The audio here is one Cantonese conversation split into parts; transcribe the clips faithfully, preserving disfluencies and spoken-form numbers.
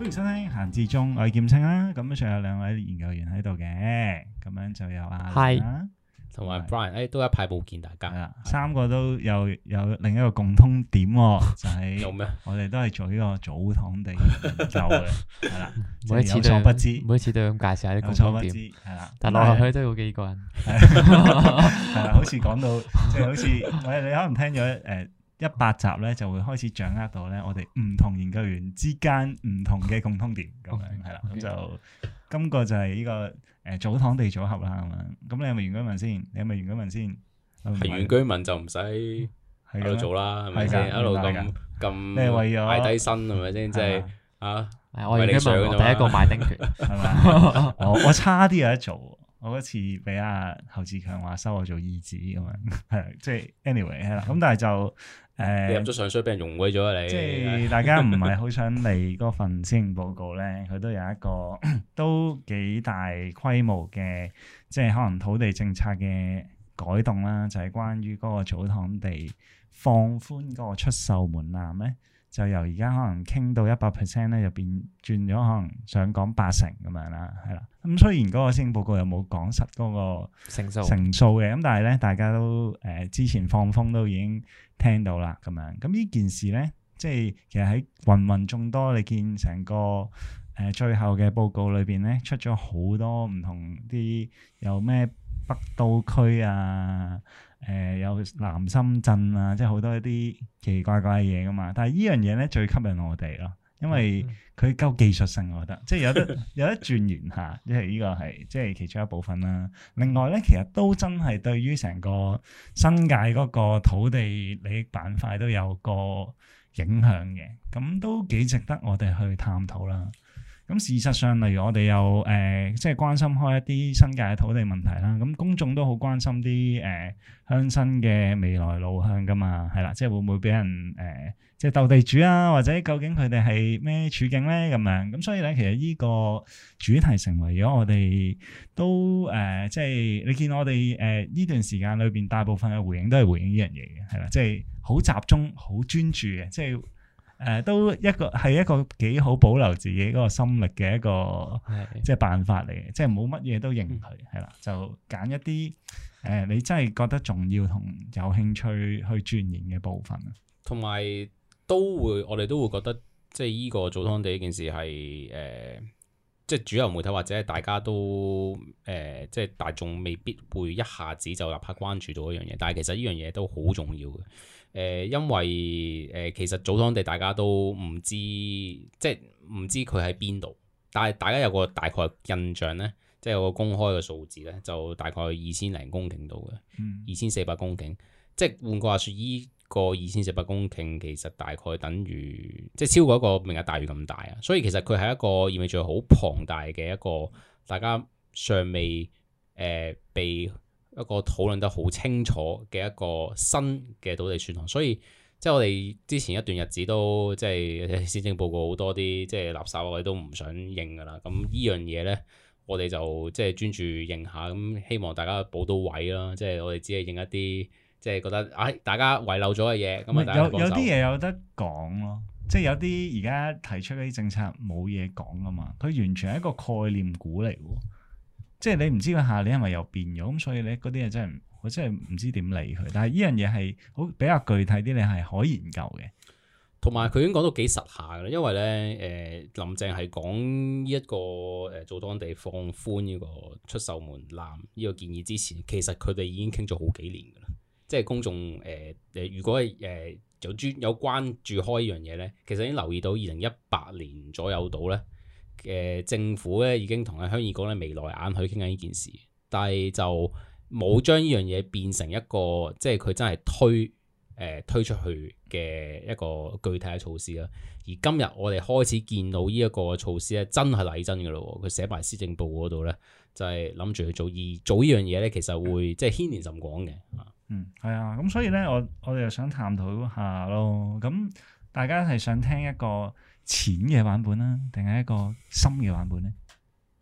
歡迎收聽閒置中，我係劍青啦。咁仲有兩位研究員喺度嘅，咁樣就有阿係啦， 同埋 Brian，誒都一排冇見大家。係啦，三個都有有另一個共通點，就係有咩？ 我哋都係做呢個祖堂地研究嘅，係啦。 每一次都不知，每一次都咁介紹下啲共通點，係啦。但落去都要幾個人， 係啦，好似講到即係好似，喂，你可能聽咗誒。一百集咧就會開始掌握到咧，我哋唔同研究員之間唔同嘅共通點咁樣係啦，咁就今個就係呢個誒祖堂地組合啦咁樣。咁你係咪原居民先？你係咪原居民先？ 係原居民就唔使喺度做啦，係咪先？一路咁咁， 你係為咗賣低身係咪先？即係啊， 我原居民我第一個買丁權係咪？ 我我差啲有得做。我嗰次俾阿侯志強話收我做義子咁樣，係即係 anyway 係啦。咁但係就誒，呃、 你入咗上水俾人用鬼咗啊！你即係大家唔係好想嚟嗰份施政報告咧，佢都有一個都幾大規模嘅，即係可能土地政策嘅改動啦，就係、是、關於嗰個祖堂地放寬嗰個出售門檻咧。就由而家可能傾到一百 percent 咧，就變轉咗可能想講八成咁樣啦，係啦。咁雖然嗰個施政報告又冇講實嗰個成數成數嘅，咁但係咧大家都誒、呃、之前放風都已經聽到啦，咁樣。咁呢件事咧，即係其實喺芸芸眾多，你見成個誒、呃、最後嘅報告裏邊咧，出咗好多唔同啲有咩北都區啊。誒、呃、有南深圳啊，即係好多一啲奇奇怪怪嘅嘢噶嘛，但係呢樣嘢咧最吸引我哋咯，因為佢夠技術性，我覺得即係有得有得轉換下，即係呢個係即係其中一部分啦。另外咧，其實都真係對於成個新界嗰個土地利益板塊都有個影響嘅，咁都幾值得我哋去探討啦。咁事實上，例如我哋有誒、呃，即係關心開一啲新界嘅土地問題啦。咁公眾都好關心啲誒鄉紳嘅未來路向噶嘛，係啦，即係會唔會俾人誒、呃，即係鬥地主啊，或者究竟佢哋係咩處境咧咁樣？咁所以咧，其實呢個主題成為咗我哋都誒、呃，即係你見我哋誒呢段時間裏邊，大部分嘅回應都係回應呢樣嘢嘅，係啦，即係好集中、好專注嘅，即係。誒、呃、都一個係一個幾好保留自己嗰個心力嘅一個的即係辦法嚟嘅，即係冇乜嘢都認佢係啦，就揀一啲誒、呃、你真係覺得重要同有興趣去鑽研嘅部分啊。同埋都會我哋都會覺得即係依個祖堂地呢件事係誒、呃，即係主流媒體或者係大家都誒、呃，即係大眾未必會一下子就立刻關注到一樣嘢，但係其實呢樣嘢都好重要嘅。誒、呃，因為誒、呃，其實祖堂地大家都唔知，即係唔知佢喺邊度，但係大家有個大概印象咧，即係有個公開嘅數字咧，就大概二千零公頃度嘅，二千四百公頃，即係換句話說，依個二千四百公頃其實大概等於即係超過一個明日大嶼咁大啊，所以其實佢係一個意味住好龐大嘅一個，大家尚未誒、呃、被。一個討論得好清楚嘅一個新嘅土地選項，所以即係我哋之前一段日子都即係施政報告好多啲即係垃圾我哋都唔想認噶啦。咁呢樣嘢咧，我哋就即係專注認下，咁希望大家補到位啦。即係我哋只係認一啲即係覺得啊、哎，大家遺漏咗嘅嘢。咁啊，有有啲嘢有得講咯，即係有啲而家提出嗰啲政策冇嘢講啊嘛，佢完全係一個概念股嚟喎。即係你唔知佢下年係咪又變咗，咁所以咧嗰啲嘢真係我真係唔知點理佢。但係呢樣嘢係好比較具體啲，你係可研究嘅。同埋佢已經講到幾實下㗎啦，因為咧誒、呃、林鄭係講呢一個誒祖堂地放寬呢個出售門檻呢個建議之前，其實佢哋已經傾咗好幾年㗎啦。即係公眾誒誒、呃，如果係誒、呃、有專有關注開呢樣嘢咧，其實已經留意到二零一八年左右到咧。誒、呃、政府咧已經同阿鄉議局咧眉來眼去傾緊呢件事，但係就冇將呢樣嘢變成一個即係佢真係推誒、呃、推出去嘅一個具體嘅措施啦。而今日我哋開始見到呢一個措施咧，真係嚟真㗎咯。佢寫埋施政報告嗰度咧，就係諗住去做，而做呢樣嘢咧，其實會即係牽連甚廣嘅。嗯，係啊，咁所以咧，我我哋又想探討下咯。咁大家係想聽一個淺嘅版本啦，定係一個深嘅版本咧？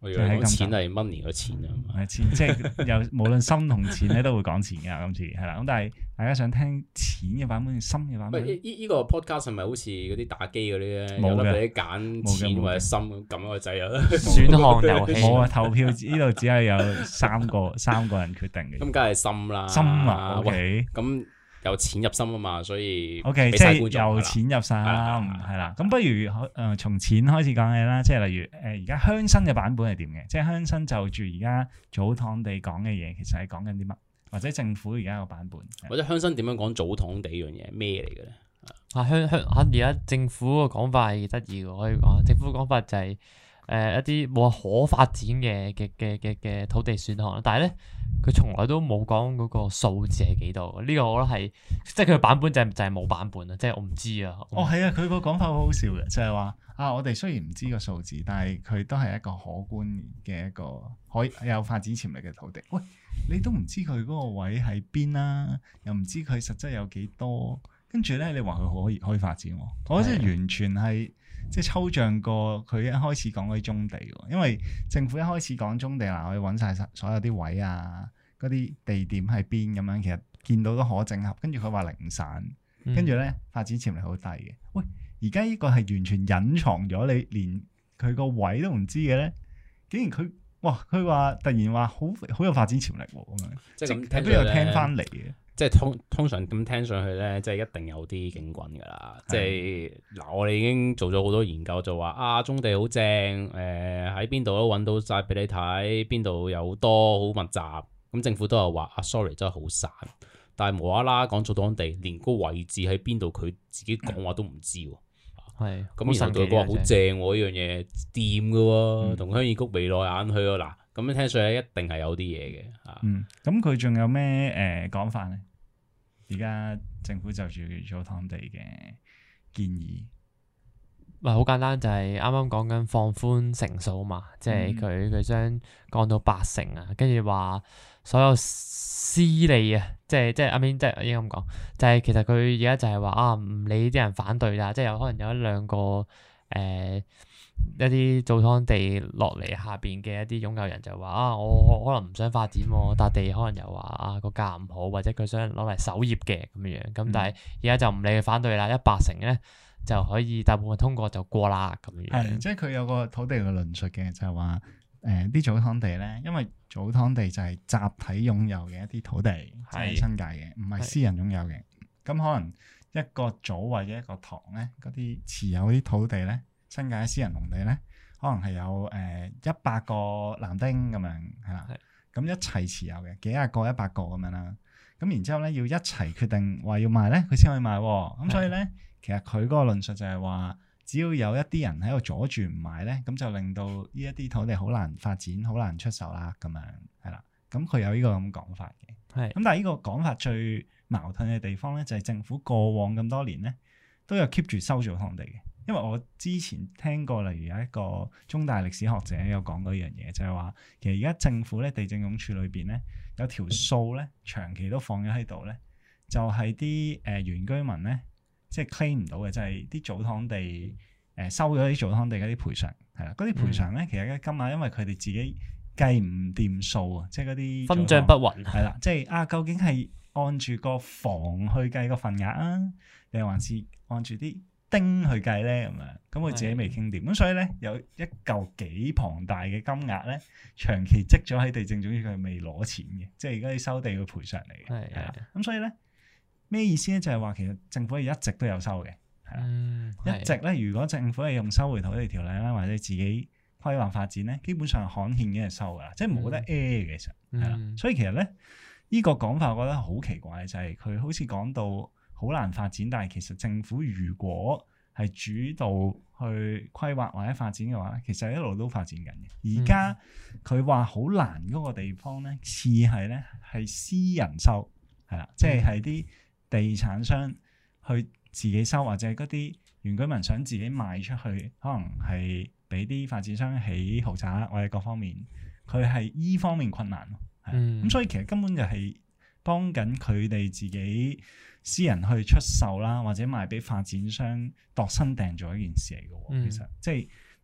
我以為講錢係 money 個錢啊， 係錢，即係有無論心同錢咧都會講錢㗎。今次係啦，咁但係大家想聽錢嘅版本定心嘅版本？ 呢呢個 podcast 係咪好似嗰啲打機嗰啲咧？ 冇嘅， 俾你揀錢或者心咁撳個掣啊！ 選項遊戲冇啊，投票呢度只係有三個三個人決定嘅。 咁梗係心啦， 心啊 ，OK， 咁。由錢入心啊嘛，所以 OK，即係由錢入心，係啦。咁不如誒從錢開始講起啦，即係例如誒而家鄉紳嘅版本係點嘅？即係鄉紳就住而家祖堂地講嘅嘢，其實係講緊啲乜？或者政府而家個版本， 或者鄉紳點樣講祖堂地呢樣嘢咩嚟嘅咧？ 啊鄉鄉嚇而家政府個講法係得意嘅，可以講政府講法就係、是、誒、呃、一啲冇可發展嘅嘅嘅嘅嘅土地選項，但係咧。佢從來都冇講嗰個數字係幾多，呢、這個我覺得係即係佢嘅版本就係、是、就係、是、冇版本啊！即係我唔知啊。 哦，係啊，佢個講法好好笑嘅，就係、是、話啊，我哋雖然唔知個數字，但係佢都係一個可觀嘅一個可以有發展潛力嘅土地。喂，你都唔知佢嗰個位喺邊啦，又唔知佢實質有幾多，跟住咧你話佢可以可以發展，我覺得完全係。即係抽象過佢一開始講嗰啲棕地喎，因為政府一開始講棕地嗱，我哋揾晒所有啲位啊，嗰啲地點喺邊咁樣，其實見到都可整合。跟住佢話零散，跟住咧發展潛力好低嘅。喂，而家呢個係完全隱藏咗，你連佢個位都唔知嘅咧，竟然佢哇佢話突然話好好有發展潛力喎咁樣，即係睇都有聽翻嚟嘅。 即係通通常咁聽上去咧，即係一定有啲景轟㗎啦。即係嗱，我哋已經做咗好多研究，就話啊，棕地好正，誒喺邊度都揾到晒俾你睇，邊度有好多好密集。咁政府都有話啊 ，sorry 真係好散。但係無啦啦講祖堂地，連個位置喺邊度，佢自己講話都唔知喎。係咁，然後佢話好正喎，呢樣嘢掂㗎喎，同鄉議局眉來眼去喎。嗱，咁樣聽上去一定係有啲嘢嘅嚇。 嗯，咁佢仲有咩誒講法咧？而家政府就住祖堂地嘅建議， 唔係好簡單，就係啱啱講緊放寬成數嘛，即係佢佢將降到八成啊，跟住話所有私利啊，即係即係阿 Min 即係應該咁講，就係、是、其實佢而家就係話啊，唔理啲人反對啦，即係有可能有一兩個誒。呃一啲祖堂地落嚟下邊嘅一啲擁有人就話啊，我可能唔想發展喎，笪地可能又話啊個價唔好，或者佢想攞嚟守業嘅咁樣，咁、嗯、但係而家就唔理佢反對啦，一八成咧就可以大部分通過就過啦咁樣。係， 即係佢有個土地嘅論述嘅，就係話誒啲祖堂地咧，因為祖堂地就係集體擁有嘅一啲土地，即係新界嘅，唔係私人擁有嘅。咁可能一個組或者一個堂咧，嗰啲持有啲土地咧。新界私人農地咧，可能係有誒一百個男丁咁樣，係啦，咁一齊持有嘅，幾廿個、一百個咁樣啦。咁然之後咧，要一齊決定話要賣咧，佢先可以賣。咁所以咧，其實佢嗰個論述就係話，只要有一啲人喺度阻住唔賣咧，咁就令到呢一啲土地好難發展、好難出售啦。咁樣係啦，咁佢有呢個咁講法嘅。係。咁但係呢個講法最矛盾嘅地方咧，就係政府過往咁多年咧，都有 keep 住收祖堂地嘅。因為我之前聽過，例如有一個中大歷史學者有講過一樣嘢，就係話其實而家政府咧地政總署裏邊咧有條數咧長期都放咗喺度咧，就係啲誒原居民咧即係 claim 唔到嘅，就係啲祖堂地誒、呃、收咗啲祖堂地嗰啲賠償係啦，嗰啲賠償咧其實嘅金額因為佢哋自己計唔掂數啊，即係嗰啲分賬不勻係啦，即係啊究竟係按住個房去計個份額啊，定還是按住啲丁去計咧咁樣，咁佢自己未傾掂，咁的所以咧有一嚿幾龐大嘅金額咧，長期積咗喺地政總署，佢未攞錢嘅，即係而家啲收地嘅賠償嚟嘅，係啊的，咁所以咧咩意思咧？就係話其實政府係一直都有收嘅，係啦，嗯、一直咧如果政府係用收回土地條例啦，或者自己規劃發展咧，基本上刊憲已經係收噶啦，即係冇得 A 嘅其實係啦，嗯、所以其實咧呢、這個講法我覺得好奇怪，就係、是、佢好似講到好難發展，但係其實政府如果係主導去規劃或者發展嘅話咧，其實一路都發展緊嘅。而家佢話好難嗰個地方咧，似係咧係私人收，係啦，即係係啲地產商去自己收，或者嗰啲原居民想自己賣出去，可能係俾啲發展商起豪宅或者各方面，佢係依方面困難咯。係咁，嗯、所以其實根本就係幫緊佢哋自己私人去出售啦，或者賣俾發展商度身訂做一件事嚟嘅。嗯、其實即係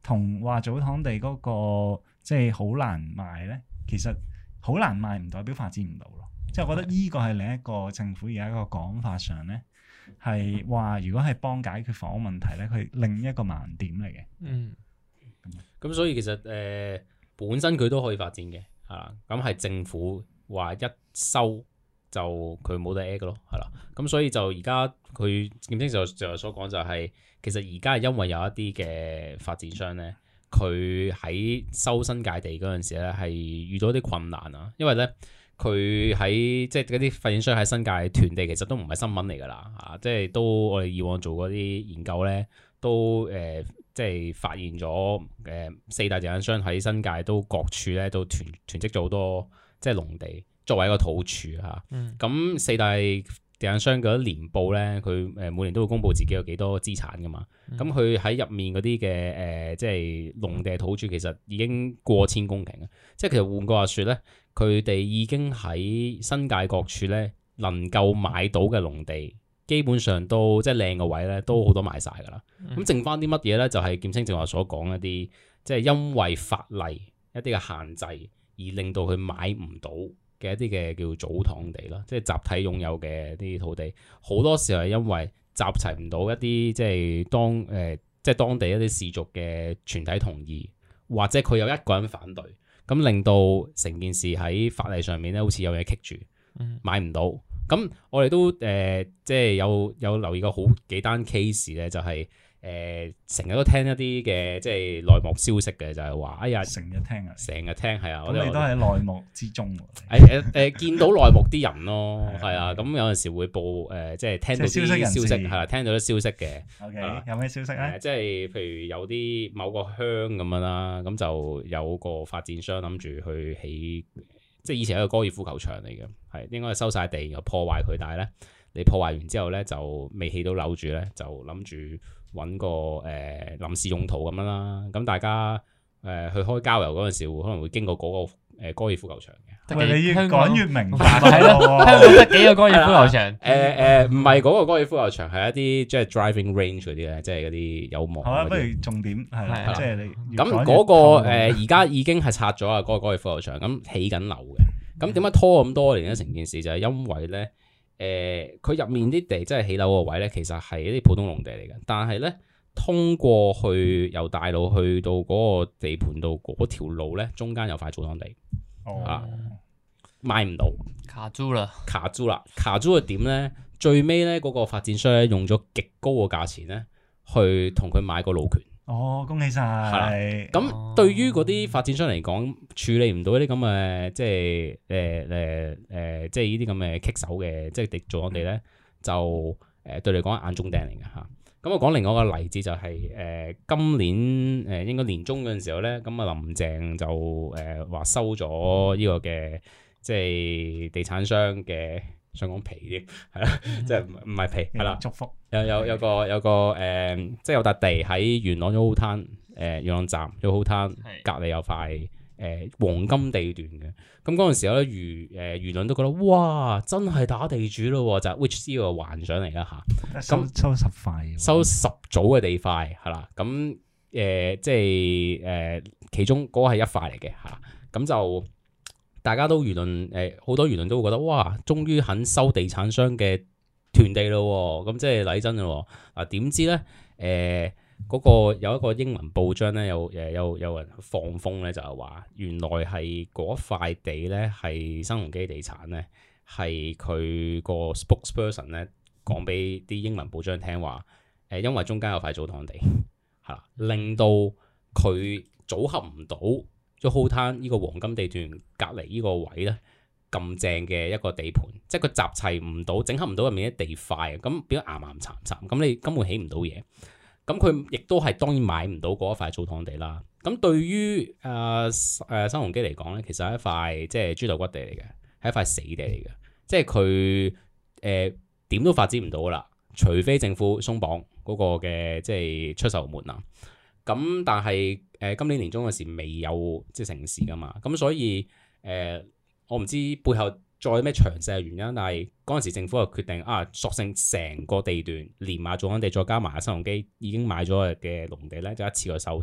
同話祖堂地嗰、那個即係好難賣咧，其實好難賣唔代表發展唔到咯。即係我覺得呢個係另一個政府而家一個講法上咧，係話如果係幫解決房屋問題咧，佢另一個盲點嚟嘅。 嗯， 咁所以其實誒、呃、本身佢都可以發展嘅，係啦。咁係政府話一收就佢冇得 A 嘅咯，係啦。咁所以就而家佢劍青就就所講就係、是，其實而家係因為有一啲嘅發展商咧，佢喺收新界地嗰陣時咧係遇到啲困難啊，因為咧。佢喺即係嗰啲發展商喺新界囤地，其實都唔係新聞嚟㗎啦，啊！即係都我哋以往做嗰啲研究咧，都誒、呃、即係發現咗誒、呃、四大地產商喺新界都各處咧都囤囤積咗好多即係農地作為一個土儲嚇。咁、嗯、四大地產商嗰啲年報咧，佢誒每年都會公布自己有幾多資產㗎嘛。咁佢喺入面嗰啲嘅誒即係農地土儲，其實已經過千公頃啊！即係其實換句話説咧。佢哋已經喺新界各處咧，能夠買到嘅農地，基本上都即係靚嘅位咧，都好多賣晒㗎啦。咁、嗯、剩翻啲乜嘢咧？就係、是、劍青正話所講一啲，即係因為法例一啲嘅限制而令到佢買唔到嘅一啲嘅叫祖堂地啦，即係集體擁有嘅啲土地。好多時候係因為集齊唔到一啲即係當誒、呃、即係當地一啲氏族嘅全體同意，或者佢有一個人反對。咁令到成件事喺法例上面咧，好似有嘢棘住，買唔到。咁我哋都誒、呃，即係有有留意過好幾單 case 咧，就係誒成日都聽一啲嘅即係內幕消息嘅，就係、是、話哎呀，成日聽啊，成日聽係啊，我哋都喺內幕之中。誒誒誒，見到內幕啲人咯，係啊，咁有陣時會報誒、呃，即係聽到啲消息係啦，聽到啲消息嘅。OK，、呃、有咩消息咧、呃？即係譬如有啲某個鄉咁樣啦，咁就有個發展商諗住去起，即係以前係一個高爾夫球場嚟嘅，係應該係收晒地，然後破壞佢，但係咧你破壞完之後咧就未起到樓住咧，就諗住揾個誒、呃、臨時用途咁樣啦。咁大家誒、呃、去開郊遊嗰陣時，會可能會經過嗰、那個。誒高爾夫球場嘅，喂，你越講越明白係咯，香港得幾個高爾夫球場？誒誒，唔係嗰個高爾夫球場，係一啲即係 driving range 嗰啲咧，即係嗰啲有網。好啊，不如重點係即係你咁嗰個誒，而家已經係拆咗啊，嗰個高爾夫球場咁起緊樓嘅。咁點解拖咁多年咧？成件事就係因為咧，誒佢入面啲地即係起樓個位咧，其實係一啲普通農地嚟嘅，但係咧通過去由大路去到嗰個地盤度嗰條路咧，中間有塊祖堂地。哦、啊，買唔到，卡住啦，卡住啦，卡住嘅點咧？最尾咧，嗰個發展商咧用咗極高嘅價錢咧，去同佢買個路權。哦，恭喜晒！係咁，哦、對於嗰啲發展商嚟講，處理唔到啲咁嘅，即係誒誒誒，即係呢啲咁嘅棘手嘅，即係地祖堂地咧，就誒、呃、對你講眼中釘嚟嘅嚇。咁我講另外一個例子就係、是、誒、呃、今年誒、呃、應該年中嗰陣時候咧，咁啊林鄭就誒話、呃、收咗呢個嘅即係地產商嘅想講皮添係啦，即係唔係皮係啦，祝福有有有個有個誒、呃、即係有笪地喺元朗 Yoho Town 誒元朗站 Yoho Town隔離有塊。誒、呃、黃金地段嘅，咁嗰陣時候咧，輿誒輿論都覺得哇，真係打地主咯，就係 Which C 個幻想嚟啦嚇。收收十塊，收十組嘅地塊係啦。咁誒、呃、即係誒、呃、其中嗰個係一塊嚟嘅嚇。咁就大家都輿論誒，好、呃、多輿論都會覺得哇，終於肯收地產商嘅囤地咯。咁即係禮真咯。嗱點知咧誒？呃嗰個有一個英文報章咧，有誒有有人放風咧，就係話原來係嗰塊地咧係新鴻基地產咧，係佢個 spokesperson 咧講俾啲英文報章聽話，誒因為中間有塊祖堂地係啦，令到佢組合唔到 Yoho Town呢個黃金地段隔離呢個位咧咁正嘅一個地盤，即係佢集齊唔到，整合唔到入面啲地塊，咁變咗岩岩殘殘，咁你根本起唔到嘢。咁佢亦都係當然買唔到嗰一塊祖堂地啦。咁對於誒誒新鴻基嚟講咧，其實係一塊即係豬頭骨地嚟嘅，係一塊死地嚟嘅。即係佢誒點都發展唔到噶啦，除非政府鬆綁嗰個嘅即係出售門檻。咁但係誒、呃、今年年中嗰時未有即係成事噶嘛。咁所以誒、呃、我唔知背後再有咩詳細嘅原因，但係嗰陣時政府就決定啊，索性成個地段連埋祖堂地，再加埋新鴻基已經買咗嘅農地咧，就一次過收晒。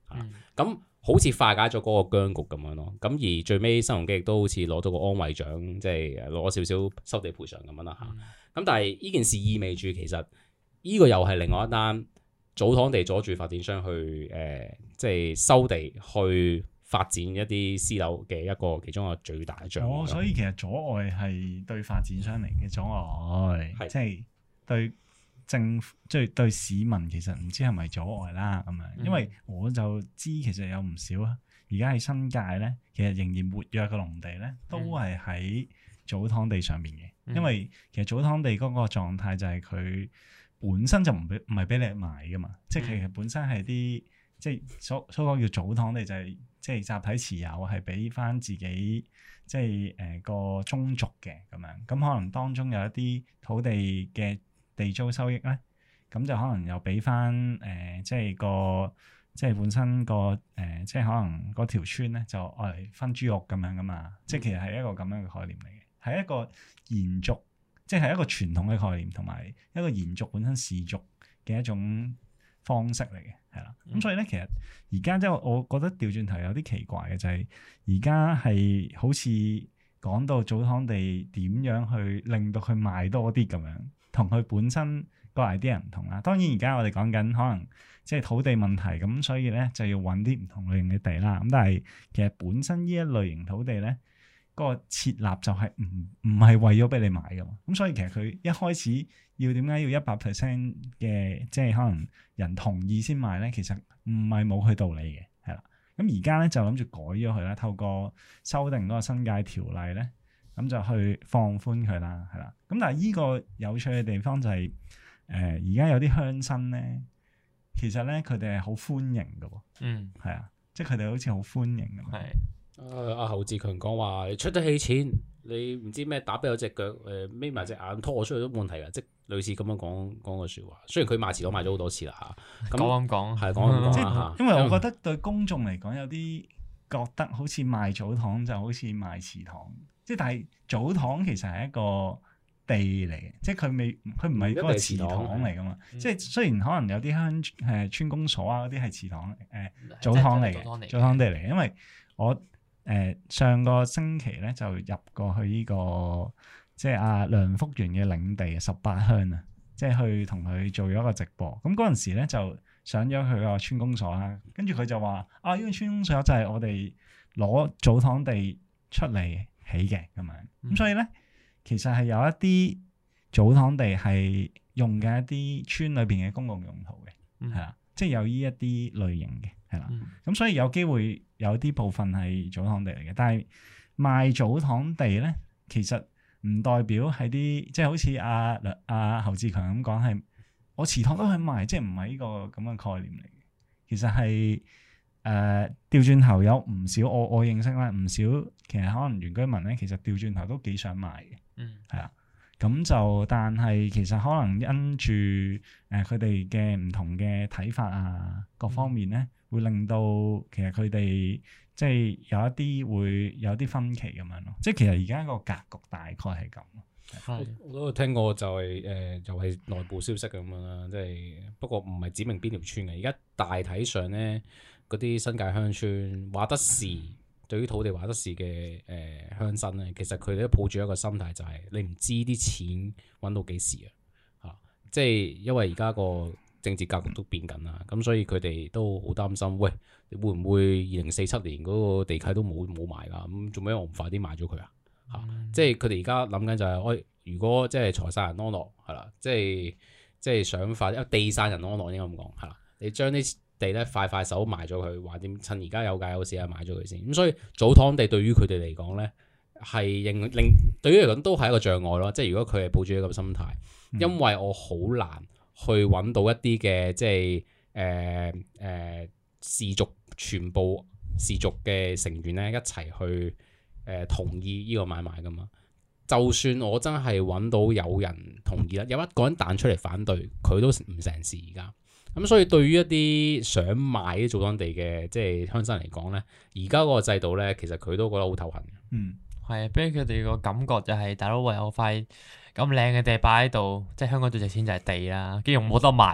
咁、嗯、好似化解咗嗰個僵局咁樣咯。咁而最尾新鴻基亦都好似攞到個安慰獎，即係攞少少收地賠償咁樣啦嚇。咁、嗯、但係呢件事意味住其實呢個又係另外一單祖堂地阻住發展商去誒、呃，即係收地去發展一啲私樓嘅一個其中一個最大嘅障礙。 哦，所以其實阻礙係對發展商嚟嘅阻礙，係即係對政府即係對市民其實唔知係咪阻礙啦咁樣。因為我就知其實有唔少啊，而家喺新界咧，其實仍然活躍嘅農地咧，都係喺祖堂地上面嘅。嗯、因為其實祖堂地嗰個狀態就係佢本身就唔俾唔係俾你買噶嘛，嗯、即係其實本身係啲即係所所講叫祖堂地就係、是。即係集體持有係俾翻自己，即係誒、呃、個宗族嘅咁樣，咁可能當中有一啲土地嘅地租收益咧，咁就可能又俾翻誒，即係個即係本身個誒、呃，即係可能嗰條村咧就愛嚟分豬肉咁樣噶嘛，即係其實係一個咁樣嘅概念嚟嘅，係一個延續，即係一個傳統嘅概念，同埋一個延續本身氏族嘅一種方式嚟嘅，係啦，咁、嗯、所以咧，其實而家即係我覺得調轉頭有啲奇怪嘅，就係而家係好似講到祖堂地點樣去令到佢賣多啲咁樣，同佢本身個 idea 唔同啦。當然而家我哋講緊可能即係土地問題，咁所以咧就要揾啲唔同類型嘅地啦。咁但係其實本身呢一類型土地咧，嗰個設立就係唔唔係為咗俾你買噶嘛。咁所以其實佢一開始要點解要一百 percent 嘅即係可能人同意先賣咧？其實唔係冇佢道理嘅，係啦。咁而家咧就諗住改咗佢啦，透過修訂嗰個新界條例咧，咁就去放寬佢啦，係啦。咁但係依個有趣嘅地方就係誒而家有啲鄉紳咧，其實咧佢哋係好歡迎嘅喎，嗯，係啊，即係佢哋好似好歡迎咁。係。 誒阿侯志強講話，你出得起錢，你唔知咩打跛咗隻腳，誒眯埋隻眼拖我出去都冇問題㗎，即係類似咁樣講講個説話。雖然佢賣祠堂賣咗好多次啦嚇，咁講咁講係講咁講啦嚇。因為我覺得對公眾嚟講有啲覺得好似賣祖堂就好似賣祠堂，即係但係祖堂其實係一個地嚟嘅，即係佢未佢唔係嗰個祠堂嚟噶嘛。嗯、即係雖然可能有啲鄉誒村公所啊嗰啲係祠堂誒祖堂嚟嘅，祖堂地嚟嘅，因為我。誒、呃、上個星期咧就入過去呢、這個即係阿梁福元嘅領地十八鄉啊，即係去同佢做咗個直播。咁嗰陣時咧就上咗佢個村公所啦，跟住佢就話：啊，呢、這個村公所就係我哋攞祖堂地出嚟起嘅咁樣。咁、嗯、所以咧，其實係有一啲祖堂地係用嘅一啲村裏邊嘅公共用途嘅，係啦、嗯，即係有呢一啲類型嘅。係啦，咁、嗯、所以有機會有啲部分係祖堂地嚟嘅，但係賣祖堂地咧，其實唔代表係啲即係好似阿阿侯志強咁講係我祠堂都去賣，即係唔係呢個咁嘅概念嚟嘅。其實係誒調轉頭有唔少我我認識咧，唔少其實可能原居民咧，其實調轉頭都幾想賣嘅，嗯，係啊。咁就，但係其實可能因住誒佢哋嘅唔同嘅睇法啊，各方面咧，會令到其實佢哋即係有一啲會有啲分歧咁樣咯。即係其實而家個格局大概係咁。 我我都聽過就係、是、誒、呃，就係、是、內部消息咁樣啦。即係不過唔係指明邊條村嘅。而家大體上咧，嗰啲新界鄉村話得事。對於土地話得事嘅誒鄉紳咧，其實佢哋都抱住一個心態，就係你唔知啲錢揾到幾時啊！嚇，即係因為而家個政治格局都變緊啦，咁所以佢哋都好擔心，喂，會唔會二零四七年嗰個地契都冇冇埋㗎？咁做咩我唔快啲賣咗佢啊？嚇、嗯！即係佢哋而家諗緊就係、是，喂，如果即係財散人安樂係啦，即係即係想法，因為地散人安樂應該咁講係啦，你將啲地咧快快手賣咗佢，話點趁而家有價有市啊，買咗佢先。咁所以祖堂地對於佢哋嚟講咧，係令令對於嚟講都係一個障礙咯。即係如果佢係抱住一個心態，因為我好難去揾到一啲嘅即係誒誒氏族全部氏族嘅成員咧一齊去誒、呃、同意呢個買賣噶嘛。就算我真係揾到有人同意啦，有一個人彈出嚟反對，佢都唔成事而家。咁所以對於一啲想買啲祖堂地嘅即係鄉紳嚟講咧，而家嗰個制度咧，其實佢都覺得好頭痕嘅。嗯， 係啊，俾佢哋個感覺就係、是、大佬為有塊咁靚嘅地擺喺度，即係香港最值錢就係地啦，跟住冇得賣喎，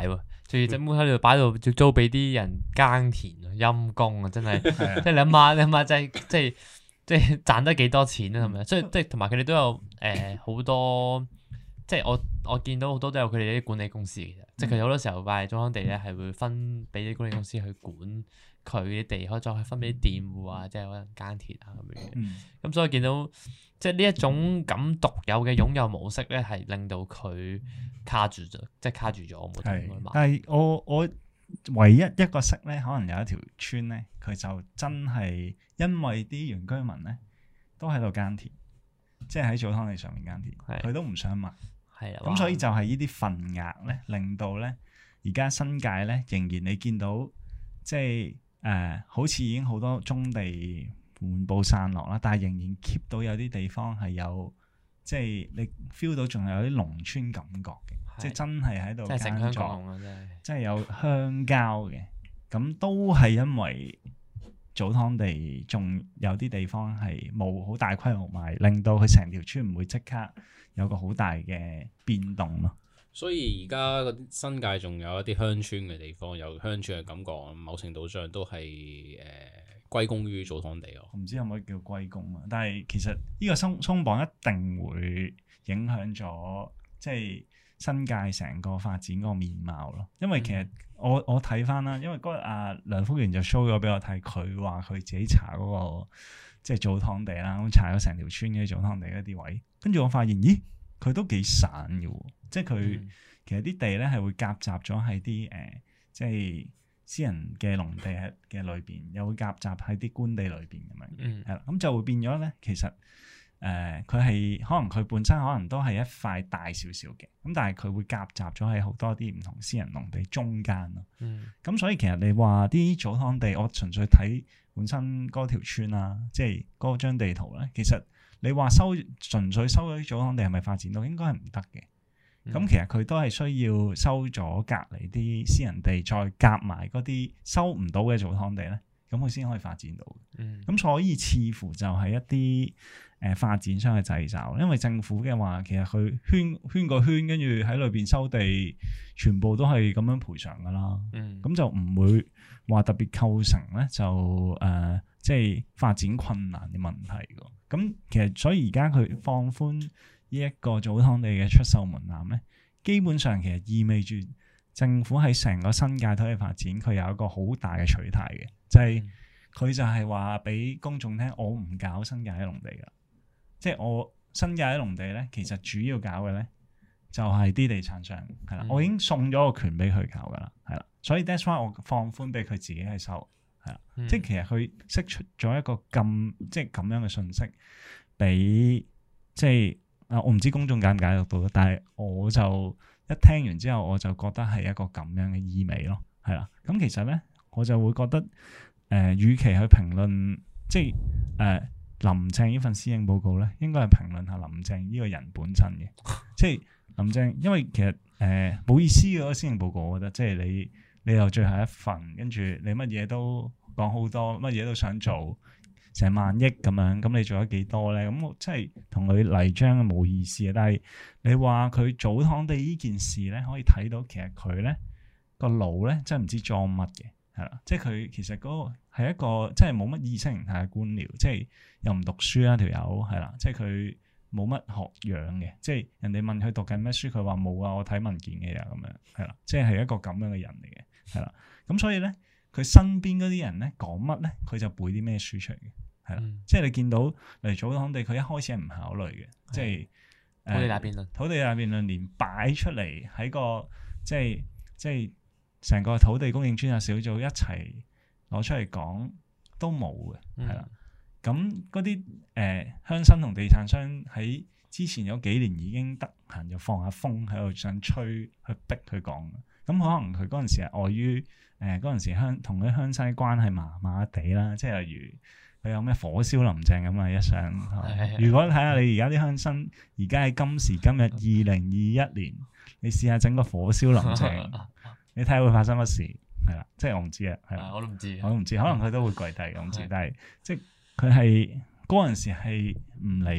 仲要整碗喺度擺到，要租俾啲人耕田啊，陰公啊，真係，即係你諗下，你諗下，即係即係即係賺得幾多錢啊？係咪？所以即係同埋佢哋都有誒好多，即係我我見到好多都有佢哋啲管理公司嘅，即係佢哋好多時候買祖堂地咧係會分俾啲管理公司去管佢啲地，可以再分俾啲店戶啊，即係可能耕田啊咁樣。咁、嗯、所以見到即係呢一種咁獨有嘅擁有模式咧，係令到佢卡住咗，即係卡住咗冇得買。 但係我我唯一一個識咧，可能有一條村咧，佢就真係因為啲原居民咧都喺度耕田，即係喺祖堂地上面耕田，佢都唔想賣。係啊，咁所以就係呢啲份額咧，令到咧而家新界咧仍然你見到即係誒、呃，好似已經好多棕地滿布散落啦，但係仍然 keep 到有啲地方係有即係你 feel 到仲有啲農村感覺嘅，即係真係喺度耕作，即係有鄉郊嘅。咁都係因為祖堂地仲有啲地方係冇好大規模賣，令到佢成條村唔會即刻有個好大嘅變動咯。 所以而家嗰啲新界仲有一啲鄉村嘅地方，有鄉村嘅感覺，某程度上都係誒、呃、歸功於祖堂地咯。 唔知可唔可以叫歸功啊？但係其實呢個鬆鬆綁一定會影響咗即係新界成個發展嗰個面貌咯。因為其實我我睇翻啦，因為嗰日阿梁福元就 show 咗俾我睇，佢話佢自己查嗰、嗰個即係祖堂地啦，咁查咗成條村嘅祖堂地嗰啲位，跟住我發現，咦，佢都幾散嘅喎。即係佢、嗯、其實啲地咧係會夾雜咗喺啲誒，即係私人嘅農地喺嘅裏邊，又會夾雜喺啲官地裏邊咁樣，係啦、嗯，咁就會變咗咧。其實誒，佢係可能佢本身可能都係一塊大少少嘅，咁但係佢會夾雜咗喺好多啲唔同私人農地中間咯。咁、嗯、所以其實你話啲祖堂地，我純粹睇本身嗰條村啊，即係嗰張地圖咧，其實你話收純粹收咗啲祖堂地係咪發展到？應該係唔得嘅。咁、嗯、其實佢都係需要收咗隔離啲私人地，再夾埋嗰啲收唔到嘅祖堂地咧，咁佢先可以發展到。咁、嗯、所以似乎就係一啲誒、呃、發展商嘅掣肘，因為政府嘅話，其實佢圈圈個圈，跟住喺裏邊收地，全部都係咁樣賠償噶啦。咁、嗯、就唔會話特別構成咧，就誒、呃、即係發展困難嘅問題㗎。咁其實所以而家佢放寬呢一個祖堂地嘅出售門檻咧，基本上其實意味住政府喺成個新界土地發展，佢有一個好大嘅取態嘅，就係、是、佢就係話俾公眾聽，我唔搞新界啲農地噶，即係我新界啲農地咧，其實主要搞嘅咧就係啲地產商係啦，嗯、我已經送咗個權俾佢搞噶啦，係啦，所以 that's why 我放寬俾佢自己去收，係啦，嗯、即係其實佢釋出咗一個咁即係咁樣嘅信息俾即係。啊！我唔知公眾解唔解讀到，但係我就一聽完之後，我就覺得係一個咁樣嘅意味咯，係啦。咁其實咧，我就會覺得，誒、呃，與其去評論，即係誒、呃、林鄭呢份施政報告咧，應該係評論下林鄭呢個人本身嘅。即係林鄭，因為其實誒冇、呃、意思嘅嗰個施政報告，我覺得，即係你你又最後一份，跟住你乜嘢都講好多，乜嘢都想做。成萬億咁樣，咁你做咗幾多咧？咁我真係同佢嚟章冇意思啊！但係你話佢祖堂地呢件事咧，可以睇到其實佢咧個腦咧真係唔知裝乜嘅，係啦，即係佢其實嗰個係一個即係冇乜意識形態嘅官僚，即係又唔讀書啦條友係啦，即係佢冇乜學養嘅，即係人哋問佢讀緊咩書，佢話冇啊，我睇文件嘅呀咁樣，係啦，即係係一個咁樣嘅人嚟嘅，係啦，咁所以咧佢身邊嗰啲人咧講乜咧，佢就背啲咩書出嚟嘅。係啦，嗯、即係你見到嚟祖堂地，佢一開始係唔考慮嘅，的即係土地大辯論，土地大辯論連擺出嚟喺個即係即係成個土地供應專責小組一齊攞出嚟講都冇嘅，係啦、嗯。咁嗰啲誒鄉紳同地產商喺之前有幾年已經得閒就放下風喺度想吹去逼佢講，咁可能佢嗰陣時係礙於誒嗰陣時鄉同啲鄉紳關係麻麻地啦，即係例如。佢有咩火燒林鄭咁啊？一上，如果睇下你而家啲鄉紳，而家喺今時今日二零二一年，你試下整個火燒林鄭，你睇下會發生乜事？係啦，即係我唔知啊，係啦，我都唔知，我都唔知，可能佢都會跪低，我唔知。但係即係佢係嗰陣時係唔理嘅，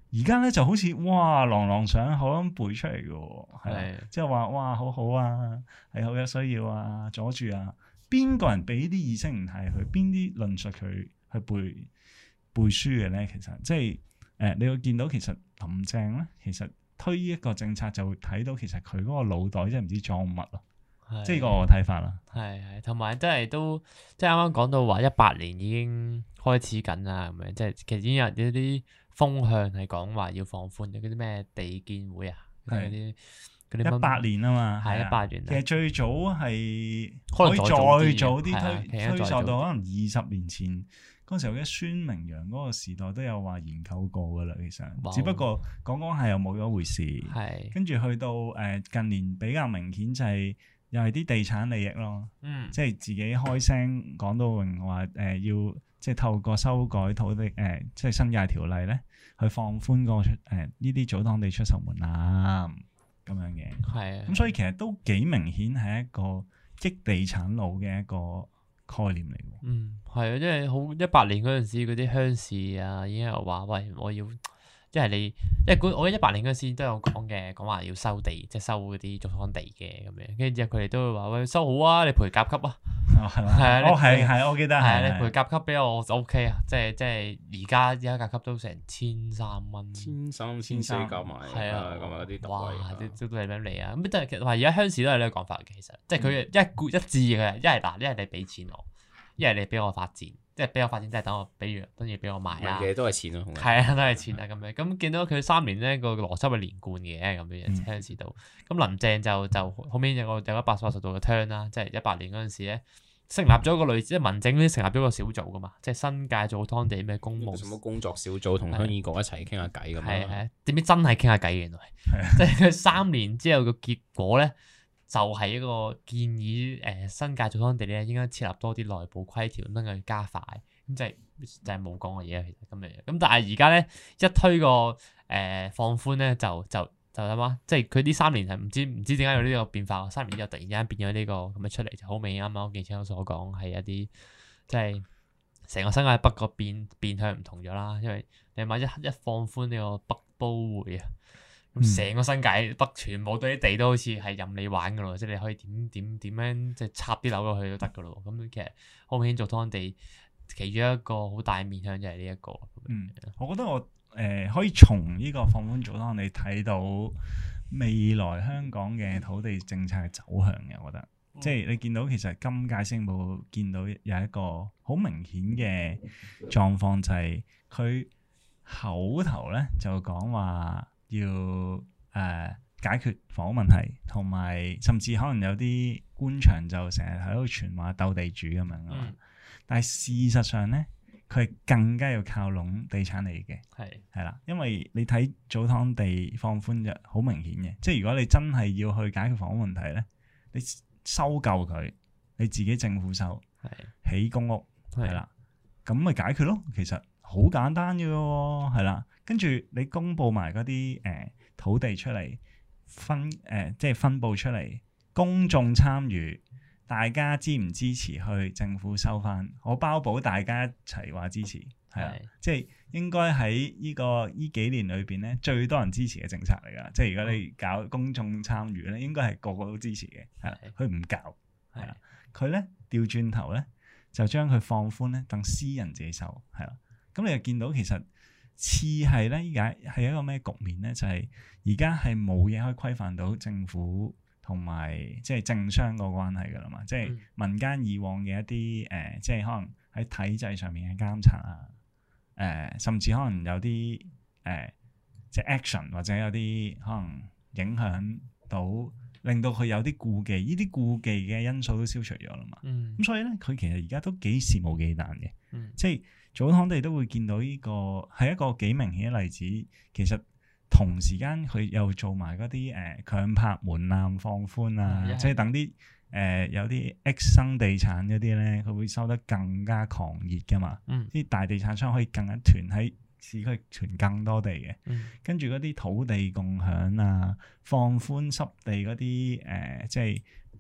而家咧就好似哇朗朗上口咁背出嚟嘅喎，係啦，即係話哇好好啊，係好有需要啊，阻住啊，邊個人俾啲意識形態佢，邊啲論述佢去背背書嘅咧？其實即係誒、呃，你會見到其實林鄭咧，其實推一個政策就會睇到其實佢嗰個腦袋真係唔知裝乜咯，即係個我睇法啦。係係，同埋真係都即係啱啱講到話一八年已經開始緊啦，咁樣即係其實已經有啲啲風向係講話要放寬嘅嗰啲咩地建會啊，嗰啲嗰啲一八年啊嘛， 係一八年。 其實最早係可以再早啲推推溯到可能二十年前嗰陣時候嘅孫明揚嗰個時代都有話研究過噶啦，其實只不過講講係又冇咗回事。係跟住去到誒近年比較明顯就係又係啲地產利益咯，嗯，即係自己開聲講到明話誒要。即係透過修改土地誒、呃，即係新界條例咧，去放寬個誒呢啲祖堂地出售門檻咁樣嘅。係啊，咁所以其實都幾明顯係一個激地產佬嘅一個概念嚟喎。嗯，係啊，因為好一八年嗰陣時嗰啲鄉事啊，已經有話喂，我要。即係你，因為我喺一八年嗰陣時都有講嘅，講話要收地，即係收嗰啲祖堂地嘅咁樣。跟住之後佢哋都會話喂，收好啊，你賠甲級啊。哦，係嘛？係啊，哦係係，我記得係。係啊，你賠甲級俾我就 OK 啊，即係即係而家而家甲級都成千三蚊。千三千四夾埋。係啊，咁啊啲特惠。哇！都都係咁嚟啊，咁但係其實話而家鄉事都係呢個講法嘅，其實即係佢一固一致嘅，一係嗱，一係你俾錢我，一係你俾我發展。即係俾我發展，即係等我，比如等住俾我賣啦。嘅都係錢咯，係啊，都係錢啊咁樣。咁見到佢三年咧個邏輯係連貫嘅咁樣，鄉事度。咁林鄭就就後面有個有個一百八十度嘅 turn 啦，即係一八年嗰陣時咧，成立咗一個類似即係民政咧，成立咗個小組噶嘛，即係新界祖堂地咩公務。什麼工作小組同鄉議局一齊傾下偈咁樣。係係，點知真係傾下偈原來，即係佢三年之後個結果咧。就係一個建議，誒、呃、新界祖堂地咧應該設立多啲內部規條，等佢加快，咁即係就係冇講嘅嘢其實咁樣。咁但係而家咧一推個誒、呃、放寬咧，就就就諗下，即係佢呢三年係唔知唔知點解有呢個變化，三年之後突然之間變咗呢、這個咁嘅出嚟，就好明顯啱啱我記者所講係一啲即係成個新界北個變變向唔同咗啦，因為你話一一放寬呢個北都會啊。成個新界北全部對啲地都好似係任你玩噶咯，即係你可以點點點樣即係插啲樓落去都得噶咯。咁其實好明顯，祖堂地其中一個好大面向就係呢一個。嗯，我覺得我誒、呃、可以從呢個放寬祖堂地睇到未來香港嘅土地政策嘅走向嘅。我覺得、嗯、即係你見到其實今屆施政報告見到有一個好明顯嘅狀況，就係佢口頭咧就講話。要誒、呃、解決房屋問題，同埋甚至可能有啲官場就成日喺度傳話鬥地主咁樣啊嘛。嗯、但係事實上咧，佢係更加要靠攏地產嚟嘅。係係啦，因為你睇祖堂地放寬就好明顯嘅，即係如果你真係要去解決房屋問題咧，你收夠佢，你自己政府收，起是公屋係啦，咁咪解決咯。其實好簡單嘅喎，係啦。跟住你公佈埋嗰啲誒土地出嚟分誒、呃，即係分佈出嚟，公眾參與，大家支唔支持去政府收翻？我包保大家一齊話支持，係啊，是即係應該喺呢個呢幾年裏邊咧，最多人支持嘅政策嚟㗎。即係如果你搞公眾參與咧，應該係個個都支持嘅，係啦。佢唔搞，係啦，佢咧調轉頭咧就將佢放寬咧，等私人自己收，係啦。咁你就見到其實。似係咧，而家係一個咩局面咧？就係而家係冇嘢可以規範到政府同埋即係政商個關係噶啦嘛。即係民間以往嘅一啲誒、呃，即係可能喺體制上面嘅監察啊，誒、呃，甚至可能有啲誒、呃，即係 action 或者有啲可能影響到，令到佢有啲顧忌，呢啲顧忌嘅因素都消除咗啦嘛。咁、嗯、所以咧，佢其實而家都幾肆無忌憚嘅，嗯、即係。祖堂地都會見到呢個係一個幾明顯嘅例子，其實同時間佢又做埋嗰啲誒強拍門檻放寬啊，嗯、即係等啲誒、呃、有啲 X 生地產嗰啲咧，佢會收得更加狂熱噶嘛，啲、嗯、大地產商可以更加囤喺市區囤更多地嘅，嗯、跟住嗰啲土地共享啊，放寬濕地嗰啲誒即係。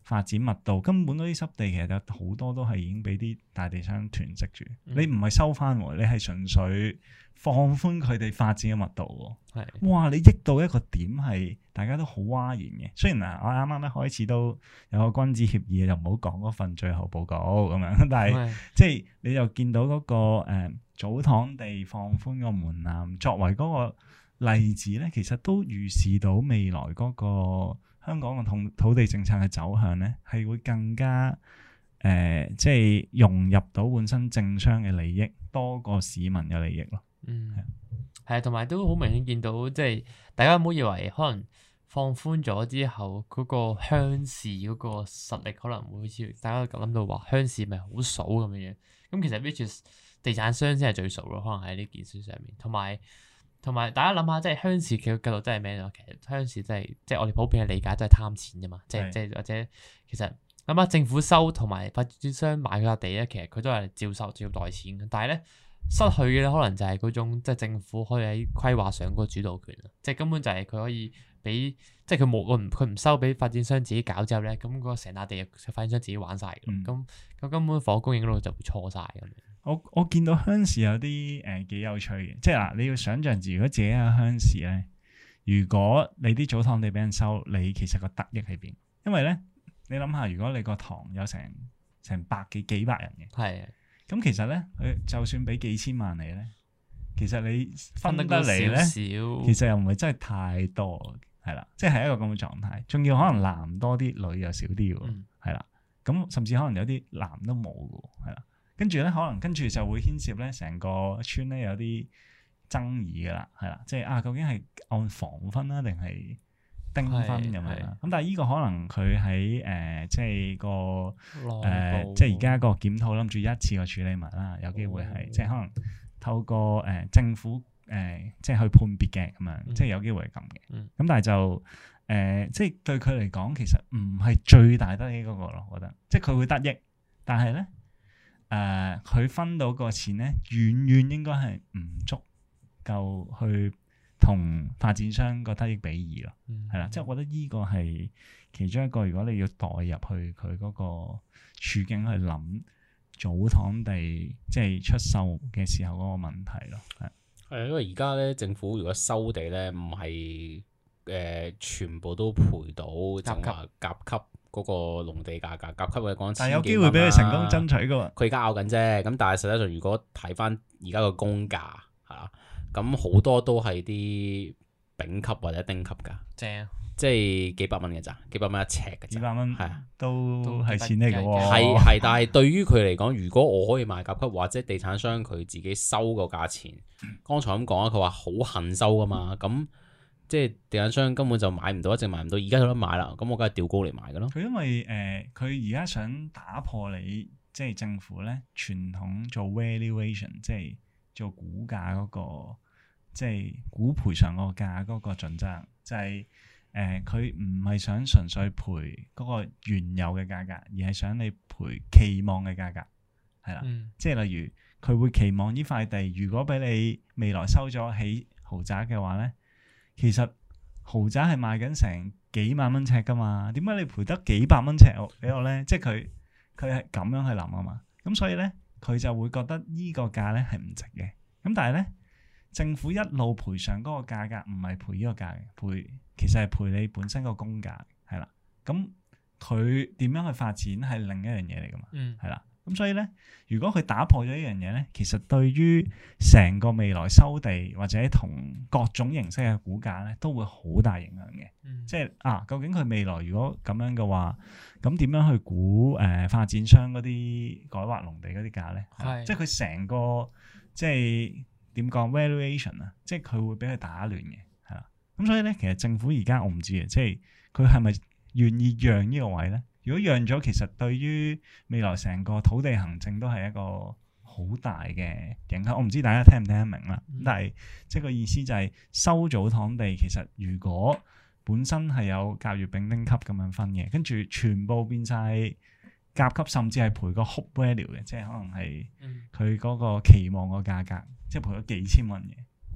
發展密度，根本嗰啲濕地其實有好多都係已經俾啲大地商囤積住。嗯、你唔係收翻，你係純粹放寬佢哋發展嘅密度。係的，哇！你益到一個點係大家都好嘩然嘅。雖然啊，我啱啱一開始都有個君子協議，就唔好講嗰份最後報告咁樣，但係的即係你又見到嗰、那個誒祖堂地放寬個門檻，作為嗰個例子咧，其實都預示到未來嗰個香港嘅土土地政策嘅走向咧，係會更加誒、呃，即係融入到本身政商嘅利益多過市民嘅利益咯。 嗯，係啊，同埋都好明顯見到，即係大家唔好以為可能放寬咗之後，嗰、那個鄉事嗰個實力可能會好似大家諗到話鄉事咪好數咁樣樣。咁其實 which is 地產商先係最數咯，可能喺呢件事上面。同埋同埋大家諗下，即係鄉事嘅角度真係咩咯？其實鄉事真係即係我哋普遍嘅理解都係貪錢啫嘛。即係即係或者其實諗下政府收同埋發展商買嗰笪地咧，其實佢都係照收照袋錢嘅。但係咧失去嘅咧，可能就係嗰種即係政府可以喺規劃上嗰個主導權啊。即係根本就係佢可以俾即係佢冇佢唔佢唔收俾發展商自己搞之後咧，咁嗰個成笪地發展商自己玩晒嘅。咁咁、嗯、根本房供應嗰度就會錯晒咁樣。 我我見到鄉事有啲誒幾有趣嘅，即係嗱，你要想象住如果自己係鄉事咧，如果你啲祖堂地俾人收，你其實個得益喺邊？因為咧，你諗下，如果你個堂有成成百幾幾百人嘅，係的，咁其實咧，佢就算俾幾千萬你咧，其實你分得嚟咧，其實又唔係真係太多，係啦，即係一個咁嘅狀態。仲要可能男多啲，女又少啲喎，係啦、嗯，咁甚至可能有啲男都冇嘅，係啦。跟住咧，可能跟住就會牽涉咧，成個村咧有啲爭議噶啦，係啦，即係啊，究竟係按房分啦，定係丁分咁樣啦？咁但係呢個可能佢喺誒，即係個誒、呃，即係而家個檢討諗住一次過處理埋啦，有機會係、哦、即係可能透過誒、呃、政府誒、呃，即係去判別嘅咁樣，嗯、即係有機會係咁嘅。咁、嗯、但係就誒、呃，即係對佢嚟講，其實唔係最大得益嗰個咯，我覺得，即係佢會得益，但係咧。誒，佢、呃、分到個錢咧，遠遠應該係唔足夠去同發展商個得益比擬咯，係啦、嗯，即係我覺得呢個係其中一個，如果你要代入去佢嗰個處境去諗祖堂地即係出售嘅時候嗰個問題咯，係係因為而家咧政府如果收地咧，唔係誒全部都賠到，就話甲級。嗰個農地價格甲級嘅講， 但係有機會俾佢成功爭取噶喎。 佢而家拗緊啫，咁但係實際上如果睇翻而家個公價嚇，咁好多都係啲丙級或者丁級㗎，正、啊，即係幾百蚊嘅咋，幾百蚊一尺嘅咋， 幾百蚊係啊， 都係錢嚟嘅喎。 係係，但係對於佢嚟講，如果我可以賣甲級或者地產商佢自己收個價錢，剛才咁講啊，佢話好恨收㗎嘛，咁。即係地產商根本就買唔到，一直買唔到，而家有得買啦，咁我梗係調高嚟買㗎咯。 佢因為誒，佢而家想打破你即係政府咧傳統做 valuation，即係做估價嗰個，即係估賠償個價嗰個準則，就係誒佢唔係想純粹賠嗰個原有嘅價格，而係想你賠期望嘅價格，係啦，嗯、即係例如佢會期望呢塊地如果俾你未來收咗起豪宅嘅話咧。其實豪宅係賣緊成幾萬蚊尺噶嘛，點解你賠得幾百蚊尺俾我咧？即係佢佢係咁樣去諗啊嘛，咁所以咧佢就會覺得呢個價咧係唔值嘅。咁但係咧政府一路賠償嗰個價格唔係賠呢個價嘅，賠其實係賠你本身個公價係啦。咁佢點樣去發展係另一樣嘢嚟噶嘛，係啦、嗯。咁所以咧，如果佢打破咗呢樣嘢咧，其實對於成個未來收地或者同各種形式嘅估價咧，都會好大影響嘅。嗯、即係啊，究竟佢未來如果咁樣嘅話，咁點樣去估誒、呃、發展商嗰啲改劃農地嗰啲價咧？係，即係佢成個即係點講 valuation 啊，即係佢會俾佢打亂嘅，係啦。咁所以咧，其實政府而家我唔知嘅，即係佢係咪願意讓呢個位咧？如果讓咗，其實對於未來成個土地行政都係一個好大嘅影響。我唔知大家聽唔聽得明啦。嗯、但係即係個意思就係收祖堂地，其實如果本身係有甲乙丙丁級咁樣分嘅，跟住全部變晒甲級，甚至係賠個 hope value 嘅，即係可能係佢嗰個期望個價格，即係賠咗幾千蚊嘅。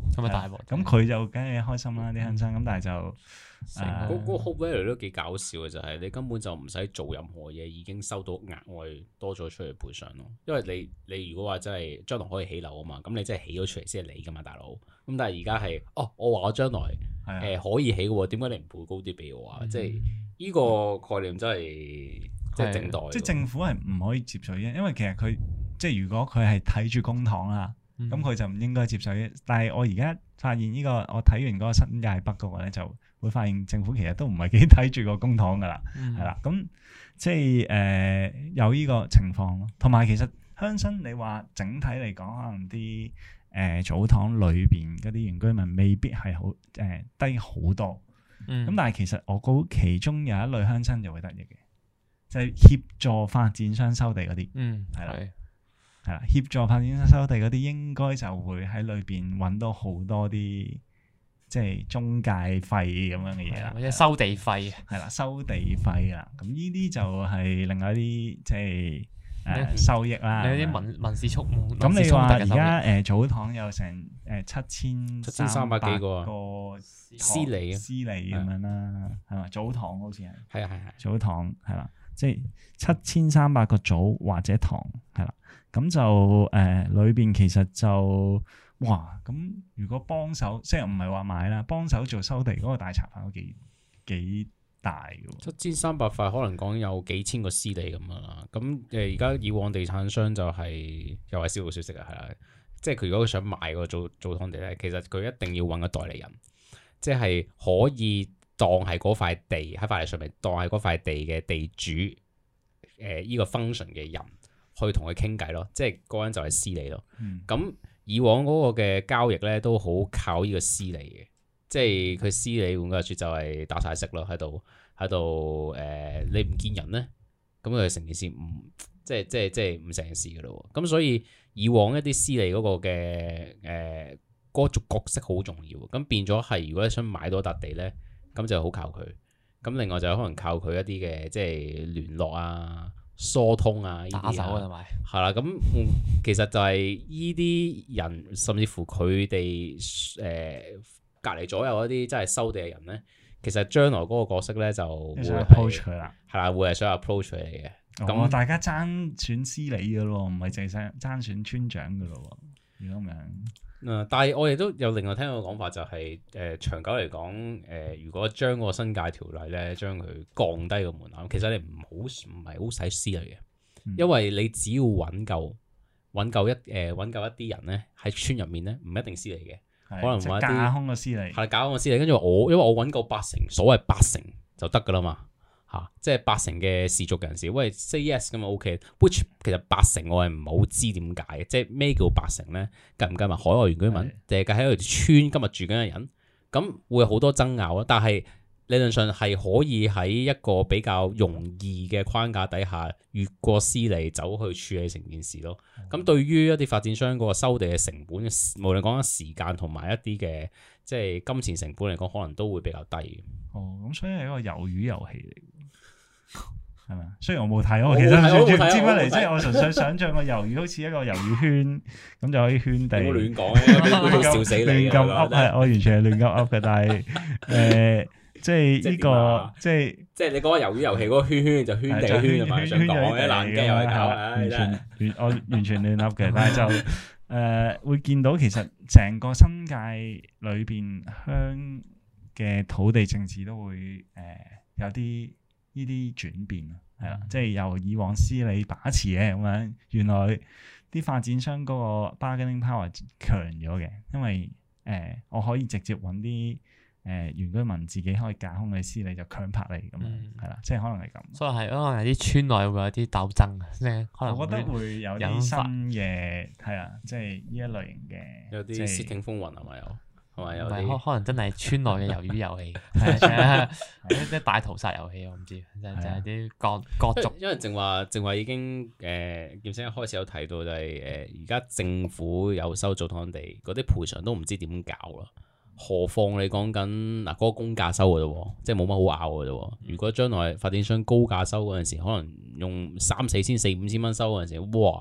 咁啊大鑊。 咁佢就梗係開心啦，啲鄉親咁，但係就嗰嗰個 hope value 都幾搞笑嘅，就係你根本就唔使做任何嘢，已經收到額外多咗出嚟賠償咯。因為你你如果話真係將來可以起樓啊嘛，咁你真係起咗出嚟先係你噶嘛，大佬。咁但係而家係哦，我話我將來誒、呃、可以起嘅喎，點解你唔賠高啲俾我啊？嗯、即係呢個概念真係即係正代。 即係政府係唔可以接受嘅，因為其實佢即係如果佢係睇住公帑啦。咁佢、嗯、就唔應該接受嘅，但係我而家發現呢、這個，我睇完嗰個新界北嗰個咧，就會發現政府其實都唔係幾睇住個公帑噶啦，係啦、嗯，咁即係誒、呃、有呢個情況咯。同埋其實鄉紳，你話整體嚟講，可能啲誒祖堂裏邊嗰啲原居民未必係好誒低好多，咁、嗯、但係其實我估其中有一類鄉紳就會得益嘅，就係、是、協助發展商收地嗰啲，係啦、嗯。係啦，協助發展商收地嗰啲，應該就會喺裏邊揾到好多啲即係中介費咁樣嘅嘢啦， 或者收地費。 係啦，收地費啦，咁呢啲就係另外一啲即係誒收益啦。你有啲民民事觸摸。咁你話而家誒祖堂有成誒七千七千三百幾個司理司理咁樣啦，係嘛？祖堂好似係。 係啊係係。 祖堂係啦，即係七千三百個祖或者堂係啦。咁就誒裏邊其實就哇咁，如果幫手即係唔係話買啦，幫手做收地嗰個大茶飯都幾幾大嘅喎。 七千三百塊可能講有幾千個司理咁樣啦。咁誒而家以往地產商就係、是、又係小道消息啊，係啦，即係佢如果佢想買個祖祖堂地咧，其實佢一定要揾個代理人，即係可以當係嗰塊地喺法例上面當係嗰塊地嘅地主誒依、呃這個 function 嘅人。去同佢傾偈咯，即係嗰個人就係司理咯。咁、嗯、以往嗰個嘅交易咧都好靠呢個司理嘅，即係佢司理換句話說就係打晒色咯，喺度喺度誒，你唔見人咧，咁佢成件事唔即係即係即係唔成事噶咯。咁所以以往一啲司理嗰個嘅誒嗰個角色好重要，咁變咗係如果你想買到一笪地咧，咁就好靠佢。咁另外就可能靠佢一啲嘅即係聯絡啊。疏通啊， 打手啊，同埋係啦，咁其實就係依啲人，甚至乎佢哋誒隔離左右一啲真係收地嘅人咧，其實將來嗰個角色咧就會 approach 佢啦， 係啦，會係想 approach 佢嚟嘅。咁、 哦、大家爭選司理嘅咯，唔係淨係爭選村長嘅咯，如果咁樣。 嗯，但係我亦都有另外聽到個講法、就係，就係誒長久嚟講，誒、呃、如果將個新界條例咧，將佢降低個門檻，其實你唔好唔係好使司理嘅，嗯、因為你只要揾夠揾夠一誒揾夠一啲人咧喺村入面咧，唔一定司理嘅， 的可能揾一啲架空嘅司理， 係架空嘅司理，跟住我因為我揾夠八成，所謂八成就得㗎啦嘛。嚇、啊，即係八成嘅氏族人士，喂 say yes 咁啊 OK，which 其實八成我係唔好知點解嘅，即係咩叫八成咧？計唔計埋海外原居民，定係計喺佢條村今日住緊嘅人？咁會好多爭拗咯。但係理論上係可以喺一個比較容易嘅框架底下，越過司理走去處理成件事咯。咁、嗯、對於一啲發展商嗰個收地嘅成本，無論講緊時間同埋一啲嘅即係金錢成本嚟講，可能都會比較低。 哦，咁所以係一個魷魚遊戲嚟。係咪？雖然我冇睇，我其實完全唔知乜嚟，即係我純粹想象個魷魚好似一個魷魚圈，咁就可以圈地。唔好亂講嘅，笑死你！亂咁噏係，我完全係亂咁噏嘅。但係誒，即係呢個，即係即係你講個魷魚遊戲嗰個圈圈就圈地圈，係咪想講嘅爛雞又係搞？完全亂，我完全亂噏嘅。但係就誒會見到，其實成個新界裏邊鄉嘅土地政治都會誒有啲。呢啲轉變啊，係啦，即係由以往司理把持嘅咁樣，原來啲發展商嗰個 bargaining power 強咗嘅，因為誒、呃、我可以直接揾啲誒原居民自己可以架空嘅司理就強拍你咁樣，係啦、嗯，即係可能係咁。所以係可能係啲村內會有啲鬥爭啊，即係可能我覺得會有啲新嘅係啊，即係呢一類型嘅有啲竊聽風雲係咪有？係咪有啲？ 可可能真係村內嘅魷魚遊戲，係一啲大屠殺遊戲，我唔知，就就係啲各各族。 因為正話正話已經誒，劍生一開始有提到就係誒，而家政府有收祖堂地，嗰啲賠償都唔知點搞啦。何況你講緊嗱嗰個公價收嘅啫，即係冇乜好拗嘅啫。如果將來發展商高價收嗰陣時，可能用三四千、四五千蚊收嗰陣時，哇！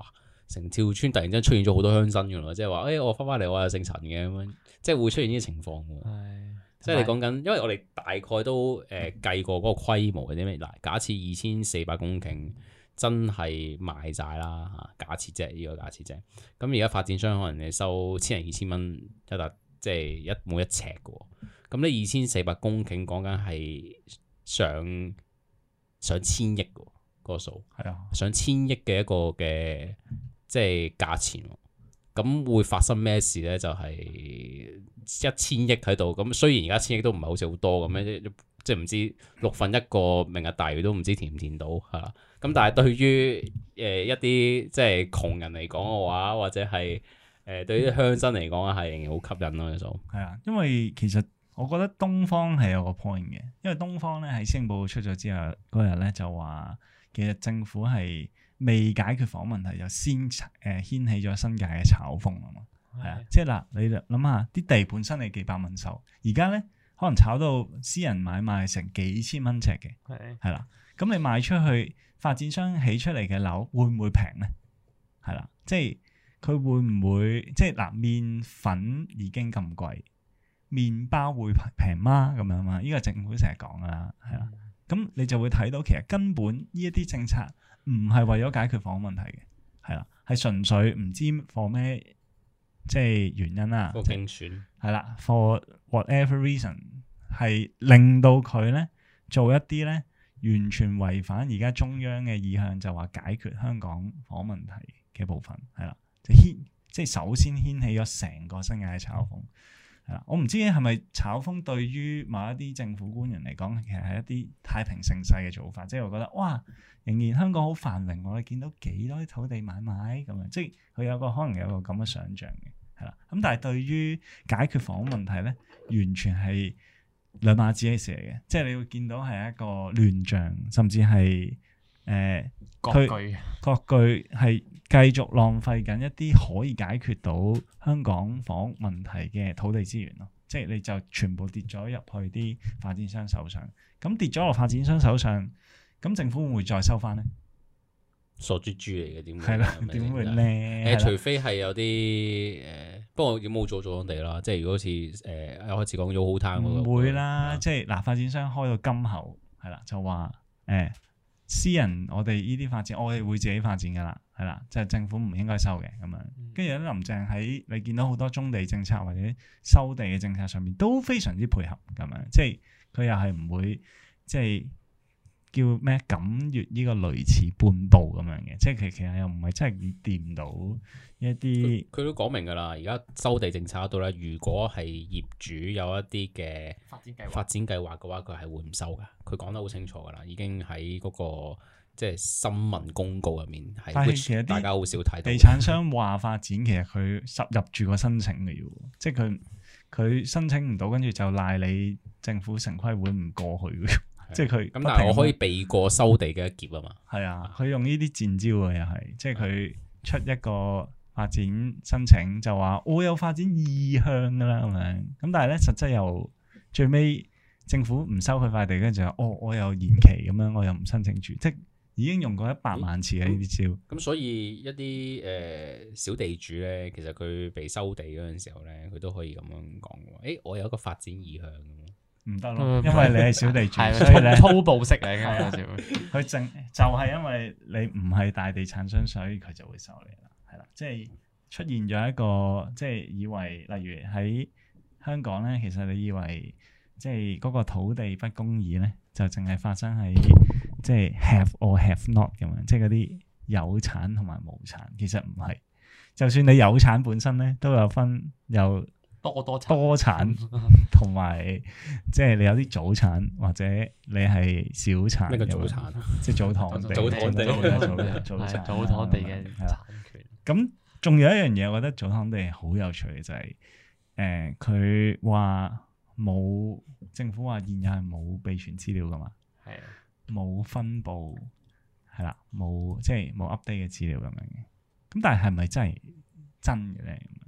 成條村突然之間出現咗好多鄉紳㗎咯，即係話誒我翻翻嚟我係姓陳嘅咁樣，即係會出現呢啲情況㗎。 係， 即係你講緊，因為我哋大概都誒、呃、計過嗰個規模係啲咩？嗱，假設二千四百公頃真係賣晒啦嚇，假設啫，呢個假設啫。咁而家發展商可能你收千零二千蚊一笪，即係一每一尺嘅喎。咁呢二千四百公頃講緊係上上千億嘅嗰個數，係啊，上千億嘅一個嘅即係價錢。咁會發生咩事咧？就係、是、一千億喺度。咁雖然而家千億都唔係好似好多咁樣，即係唔知六分一個明日大嶼都唔知填唔填到係啦。咁但係對於誒、呃、一啲即係窮人嚟講嘅話，或者係誒、呃、對於鄉紳嚟講係仍然好吸引咯。就係啊，因為其實我覺得東方係有個 point 嘅，因為東方咧喺施政報告出咗之後嗰日咧就話，其實政府係未解決房問題，就先誒、呃、掀起咗新界嘅炒風啊嘛。係啊，即係嗱，你諗下啲地本身係幾百蚊售，而家咧可能炒到私人買賣成幾千蚊尺嘅，係係啦。咁你賣出去，發展商起出嚟嘅樓會唔會平咧？係啦，即係佢會唔會即係嗱？麵粉已經咁貴，麵包會平嗎？咁樣嘛？呢個政府成日講噶啦，係啦。咁你就會睇到其實根本呢一啲政策唔係為咗解決房屋問題嘅，係啦，係純粹唔知 for 咩即係原因啦， 個競選係啦 for whatever reason 係令到佢咧做一啲咧完全違反而家中央嘅意向，就話解決香港房屋問題嘅部分，係啦，就牽即係首先掀起咗成個新界嘅炒風。係啦，我唔知係咪炒風對於某一啲政府官員嚟講，其實係一啲太平盛世嘅做法，即係我覺得哇，仍然香港好繁榮，我哋見到幾多啲土地買賣咁樣，即係佢有個可能有個咁嘅想像嘅，係啦。咁但係對於解決房屋問題咧，完全係兩碼子嘅事嚟嘅，即係你會見到係一個亂象，甚至係誒割據， 割據係繼續浪費緊一啲可以解決到香港房屋問題嘅土地資源咯，即係你就全部跌咗入去啲發展商手上，咁跌咗落發展商手上，咁政府會唔會再收翻咧？ 傻豬豬嚟嘅，點會？ 係啦，點會咧？ 誒，除非係有啲誒、呃，不過有冇做咗地啦？即係如果好似誒一開始講咗好攤嗰個，唔會啦。即係嗱，發展商開到金口係啦，就話誒。欸私人我哋呢啲發展，我哋會自己發展噶啦，係啦，即係政府唔應該收嘅咁樣。跟住咧，林鄭喺你見到好多棕地政策或者收地嘅政策上面都非常之配合咁樣，即係佢又係唔會即係叫咩敢越呢個雷池半步咁樣嘅，即係其其實又唔係真係掂到一啲。佢都講明㗎啦，而家收地政策嗰度咧，如果係業主有一啲嘅發展計劃發展計劃嘅話，佢係會唔收㗎。佢講得好清楚㗎啦，已經喺嗰、那個即係新聞公告入面係。但係其實大家好少睇到。地產商話發展，其實佢實入住個申請嘅要，即係佢佢申請唔到，跟住就賴你政府城規會唔過去。即係佢咁，但係我可以避過收地嘅一劫啊嘛。係啊，佢用呢啲賤招啊，又係即係佢出一個發展申請就話我有發展意向噶啦咁樣，咁但係咧實質又最尾政府唔收佢塊地，跟住就哦我又延期咁樣，我又唔申請住，即係已經用過一百萬次嘅呢啲招。咁、嗯、所以一啲誒、呃、小地主咧，其實佢被收地嗰陣時候咧，佢都可以咁樣講嘅。誒、欸，我有一個發展意向。唔得咯，因為你係小地主，所以咧粗暴式嚟嘅。佢正就係因為你唔係大地產商，所以佢就會收你啦。係啦，即係出現咗一個，即係以為，例如喺香港咧，其實你以為即係嗰個土地不公義咧，就淨係發生喺即係 have or have not 咁樣，即係嗰啲有產同埋無產，其實唔係。就算你有產本身咧，都有分有。多多產多產同埋，即係你有啲早產或者你係小產。咩叫早產？即係祖堂地。祖堂地。祖產。祖堂地嘅產權。咁仲有一樣嘢，我覺得祖堂地好有趣嘅就係、是，誒佢話冇政府話現有係冇備存資料噶嘛，係啊，冇分佈係啦，冇即係冇 update 嘅資料咁樣嘅。咁但係係咪真係真嘅咧？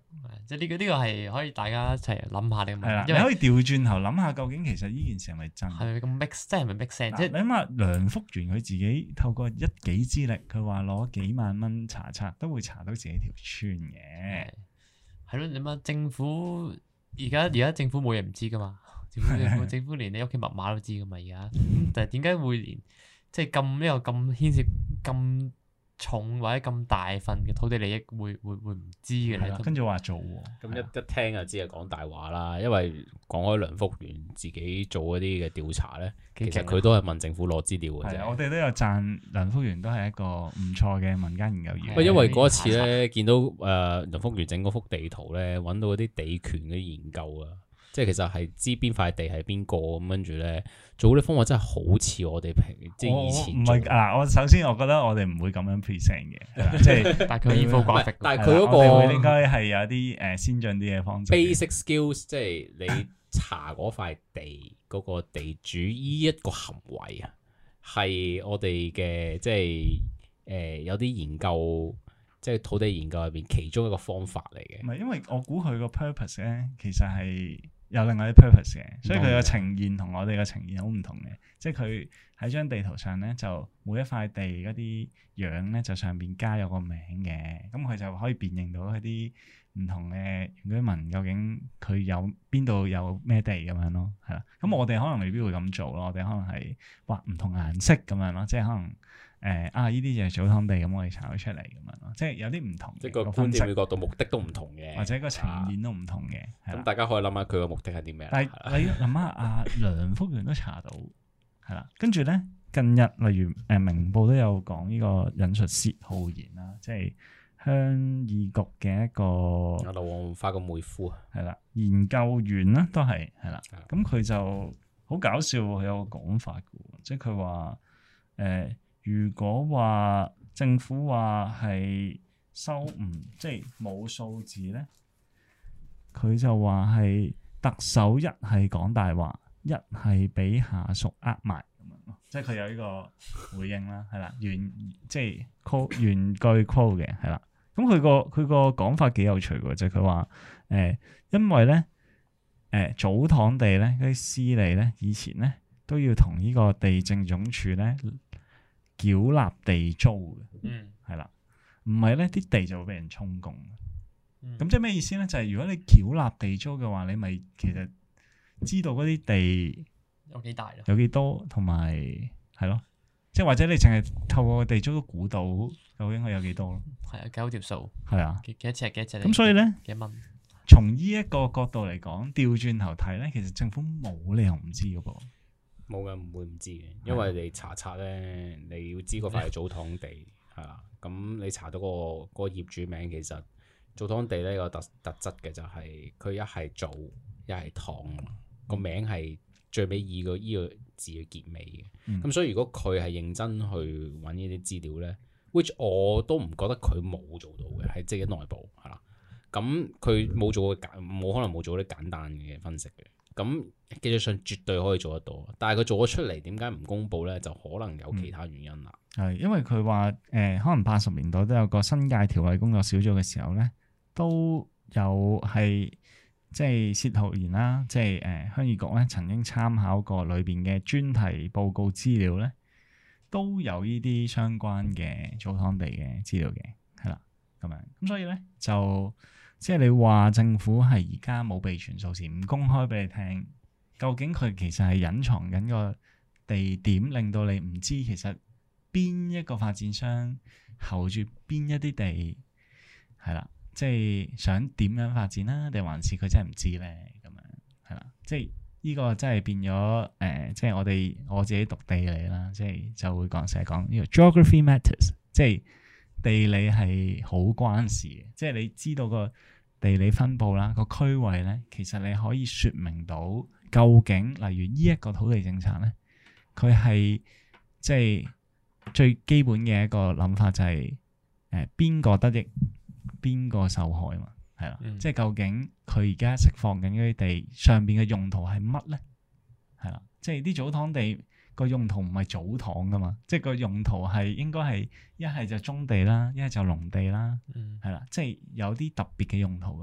即係呢個呢個係可以大家一齊諗下呢個問題。 係啦， 因為你可以調轉頭諗下，究竟其實呢件事係咪真？ 係咪咁 make， 即係咪 make sense？即係你諗下，梁福元佢自己透過一己之力，佢話攞幾萬蚊查冊，都會查到自己條村嘅。 係咯，你諗下政府而家而家政府冇嘢唔知噶嘛？政府政府政府連你屋企密碼都知噶嘛？而家，但係點解會連即係咁呢個咁牽涉咁重或者咁大份嘅土地利益會會會唔知嘅咧？ 跟住話做喎， 咁一一聽就知係講大話啦。因為講開梁福元自己做嗰啲嘅調查咧，其實佢都係問政府攞資料嘅啫。 我哋都有讚梁福元都係一個唔錯嘅民間研究員。 喂，因為嗰一次咧，見到誒梁福元整嗰幅地圖咧，揾到嗰啲地權嘅研究啊。即係其實係知邊塊地係邊個咁，跟住咧做嗰啲方法真係好似我哋平即係以前。唔係嗱，我首先我覺得我哋唔會咁樣 present 嘅，即係但係佢 infographic， 但係佢嗰個應該係有啲誒先進啲嘅方式。 basic skills 即係你查嗰塊地嗰個地主依一個行為啊，係我哋嘅即係誒有啲研究，即係土地研究入邊其中一個方法嚟嘅。 唔係，因為我估佢個 purpose 咧，其實係有另外啲 purpose 嘅，所以佢個呈現同我哋嘅呈現好唔同嘅。即係佢喺張地圖上咧，就每一塊地嗰啲樣咧，就上邊加有個名嘅，咁佢就可以辨認到一啲唔同嘅原居民究竟佢有邊度有咩地咁樣咯，係啦。咁我哋可能未必會咁做咯，我哋可能係畫唔同顏色咁樣咯，即係可能。誒、呃、啊！呢啲就係祖堂地咁，我哋查咗出嚟咁樣咯，即係有啲唔同， 即係個觀點嘅角度、目的都唔同嘅， 或者個呈現都唔同嘅。咁、 啊、大家可以諗下佢個目的係啲咩？ 但係你諗下，阿梁福元都查到，係啦。跟住咧，近日例如誒、呃、明報都有講呢個引述薛浩然啦，即係鄉議局嘅一個阿劉皇發個妹夫啊， 係啦，研究員啦都係係啦。咁佢的就好搞笑，佢有個講法嘅，即係佢話誒。呃如果話政府話係收唔即係冇數字咧，佢就話係特首一係講大話，一係俾下屬呃埋咁樣咯。即係佢有呢個回應啦，係啦，原即係 call 原句 call 嘅係啦。咁佢個佢個講法幾有趣嘅，就係佢話誒，因為咧誒、呃、祖堂地咧嗰啲司理咧，以前咧都要同呢個地政總署咧。繳納地租嘅，嗯，係啦，唔係咧啲地就會俾人充公，咁、嗯、即係咩意思咧？就係、是、如果你繳納地租嘅話，你咪其實知道嗰啲地有幾大咯， 有幾多，同埋係咯，即係或者你淨係透過地租都估到究竟佢有幾多咯， 係啊，計好條數， 係啊， 幾幾多尺幾多尺， 咁所以咧幾蚊？ 從呢一個角度嚟講，調轉頭睇咧，其實政府冇理由唔知噶噃。 冇嘅，唔會唔知嘅，因為你查冊咧，你要知嗰塊係祖堂地係啦。咁你查到個個業主名，其實祖堂地咧個特特質嘅就係佢一係祖一係堂，個名係最尾以個依個字嘅結尾嘅。咁、嗯、所以如果佢係認真去揾呢啲資料咧 which 我都唔覺得佢冇做到嘅，喺自己內部係啦。咁佢冇做過簡，冇可能冇做啲簡單嘅分析嘅。咁技術上絕對可以做得到，但係佢做咗出嚟，點解唔公佈咧？就可能有其他原因啦。 係、嗯、因為佢話誒，可能八十年代都有個新界條例工作小組嘅時候咧，都有係即係薛浩然啦，即係誒鄉議局咧曾經參考過裏邊嘅專題報告資料咧，都有呢啲相關嘅祖堂地嘅資料嘅，係啦咁樣。咁所以咧就。即係你話政府係而家冇備存數字，唔公開俾你聽，究竟佢其實係隱藏緊個地點，令到你唔知其實邊一個發展商候住邊一啲地，係啦，即係想點樣發展啦，定還是佢真係唔知咧？咁樣係啦，即係呢個真係變咗誒、呃，即係我哋我自己讀地理啦，即係就會講成日講呢個 geography matters，即係地理係好關事嘅，即係你知道個地理分佈啦，個區位咧，其實你可以説明到究竟，例如呢一個土地政策咧，佢係即係最基本嘅一個諗法就係誒邊個得益，邊個受害嘛，係啦，嗯、即係究竟佢而家釋放緊嗰啲地上邊嘅用途係乜咧？係啦，即係啲祖堂地個用途唔係祖堂噶嘛，即係個用途係應該係一係就棕地啦，一係就農地啦，係啦、嗯，即係有啲特別嘅用途噶嘛，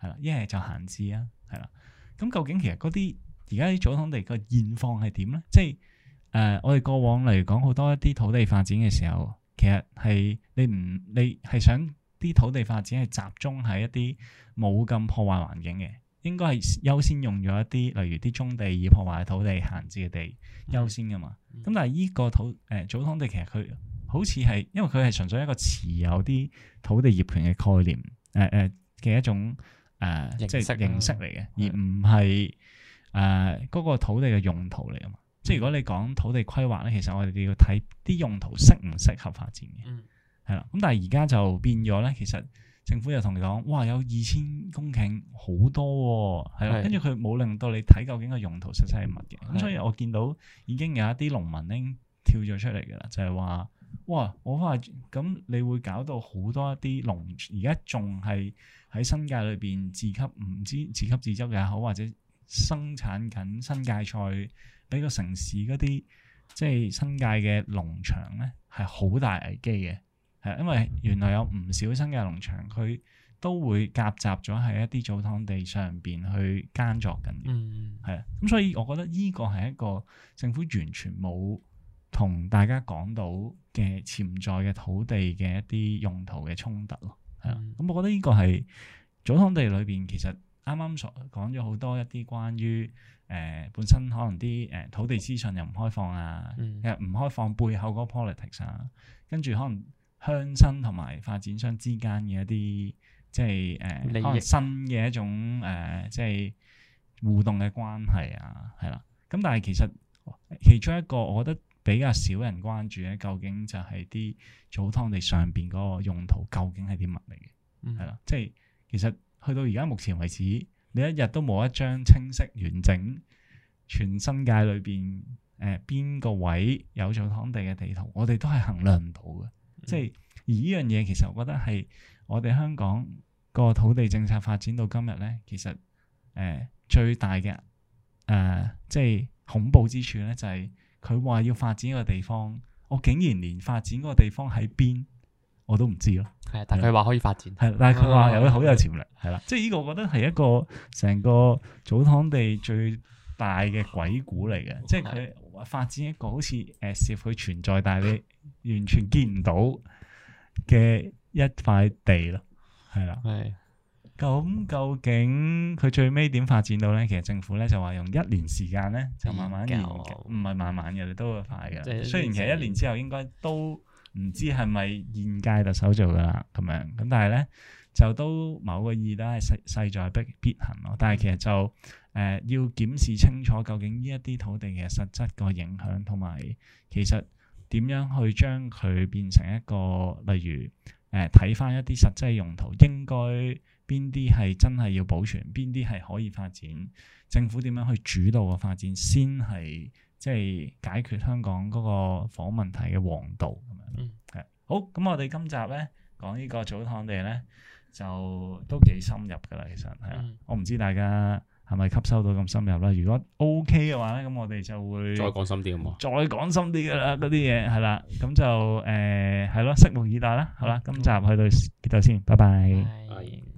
係啦，一係就閒置啊，係啦。咁究竟其實嗰啲而家啲組土地個現況係點咧？即係誒、呃，我哋過往嚟講好多一啲土地發展嘅時候，其實係你唔你係想啲土地發展係集中喺一啲冇咁破壞環境嘅，應該係優先用咗一啲例如啲棕地已破壞嘅土地、閒置嘅地優先噶嘛。咁、嗯、但係依個土誒、呃、組土地其實佢好似係因為佢係純粹一個持有啲土地業權嘅概念誒誒嘅一種誒、呃、即係形式嚟嘅，啊、而唔係誒嗰個土地嘅用途嚟噶嘛。嗯、即係如果你講土地規劃咧，其實我哋要睇啲用途適唔適合發展嘅，係啦、嗯。咁但係而家就變咗咧，其實政府又同你講，哇有二千公頃好多喎，係啦，跟住佢冇令到你睇究竟個用途實際係乜嘅。咁的所以我見到已經有一啲農民咧跳咗出嚟㗎啦，就係、是、話。哇！我話咁，你會搞到好多一啲農，而家仲係喺新界裏邊自給唔知自給自足也好，或者生產緊新界菜俾個城市嗰啲即係新界嘅農場咧，係好大危機嘅。係因為原來有唔少新界農場佢都會夾雜咗喺一啲祖堂地上邊去耕作緊嘅。嗯，係啊，咁所以我覺得呢個係一個政府完全冇同大家講到嘅潛在嘅土地嘅一啲用途嘅衝突咯，係啦。咁、嗯、我覺得呢個係祖堂地裏邊其實啱啱所講咗好多一啲關於誒、呃、本身可能啲誒土地資訊又唔開放啊，嗯、其實唔開放背後嗰個 politics 啊，跟住可能鄉紳同埋發展商之間嘅一啲即係誒、呃、可能新嘅一種誒、呃、即係互動嘅關係啊，係啦。咁但係其實其中一個我覺得比較少人關注咧，究竟就係啲祖堂地上邊嗰個用途究竟係啲乜嚟嘅？係啦、嗯，即係其實去到而家目前為止，你一日都冇一張清晰完整全新界裏邊誒邊個位有祖堂地嘅地圖，我哋都係衡量唔到嘅。嗯、即係而呢樣嘢，其實我覺得係我哋香港個土地政策發展到今日咧，其實誒、呃、最大嘅誒、呃、即係恐怖之處咧，就係、是。佢話要發展一個地方，我竟然連發展嗰個地方喺邊我都唔知咯。係，但係佢話可以發展，係，但係佢話有好有潛力，係啦。即係呢個，我覺得係一個成個祖堂地最大嘅鬼故嚟嘅。即係佢發展一個好似誒，似佢存在，但係你完全見唔到嘅一塊地咯，係啦。係。咁究竟佢最尾點發展到咧？其實政府咧就話用一年時間咧就慢慢研究，唔係慢慢嘅，都會快嘅。即雖然其實一年之後應該都唔知係咪現屆特首做噶啦咁樣，咁但係咧就都某個意義都係勢勢在必必行咯。但係其實就誒、呃、要檢視清楚究竟呢一啲土地嘅實質個影響，同埋其實點樣去將佢變成一個例如誒睇翻一啲實際用途應該。邊啲係真係要保存，邊啲係可以發展？政府點樣去主導個發展，先係即係解決香港嗰個房問題嘅王道咁樣。嗯，係好。咁我哋今集咧講呢個祖堂地咧，就都幾深入噶啦。其實係啊，嗯、我唔知大家係咪吸收到咁深入啦。如果 OK 嘅話咧，咁我哋就會再講深啲咁啊，再講深啲噶啦，嗰啲嘢係啦。咁就誒係咯，拭目以待啦。好啦，今集去到呢度先，拜拜。拜拜。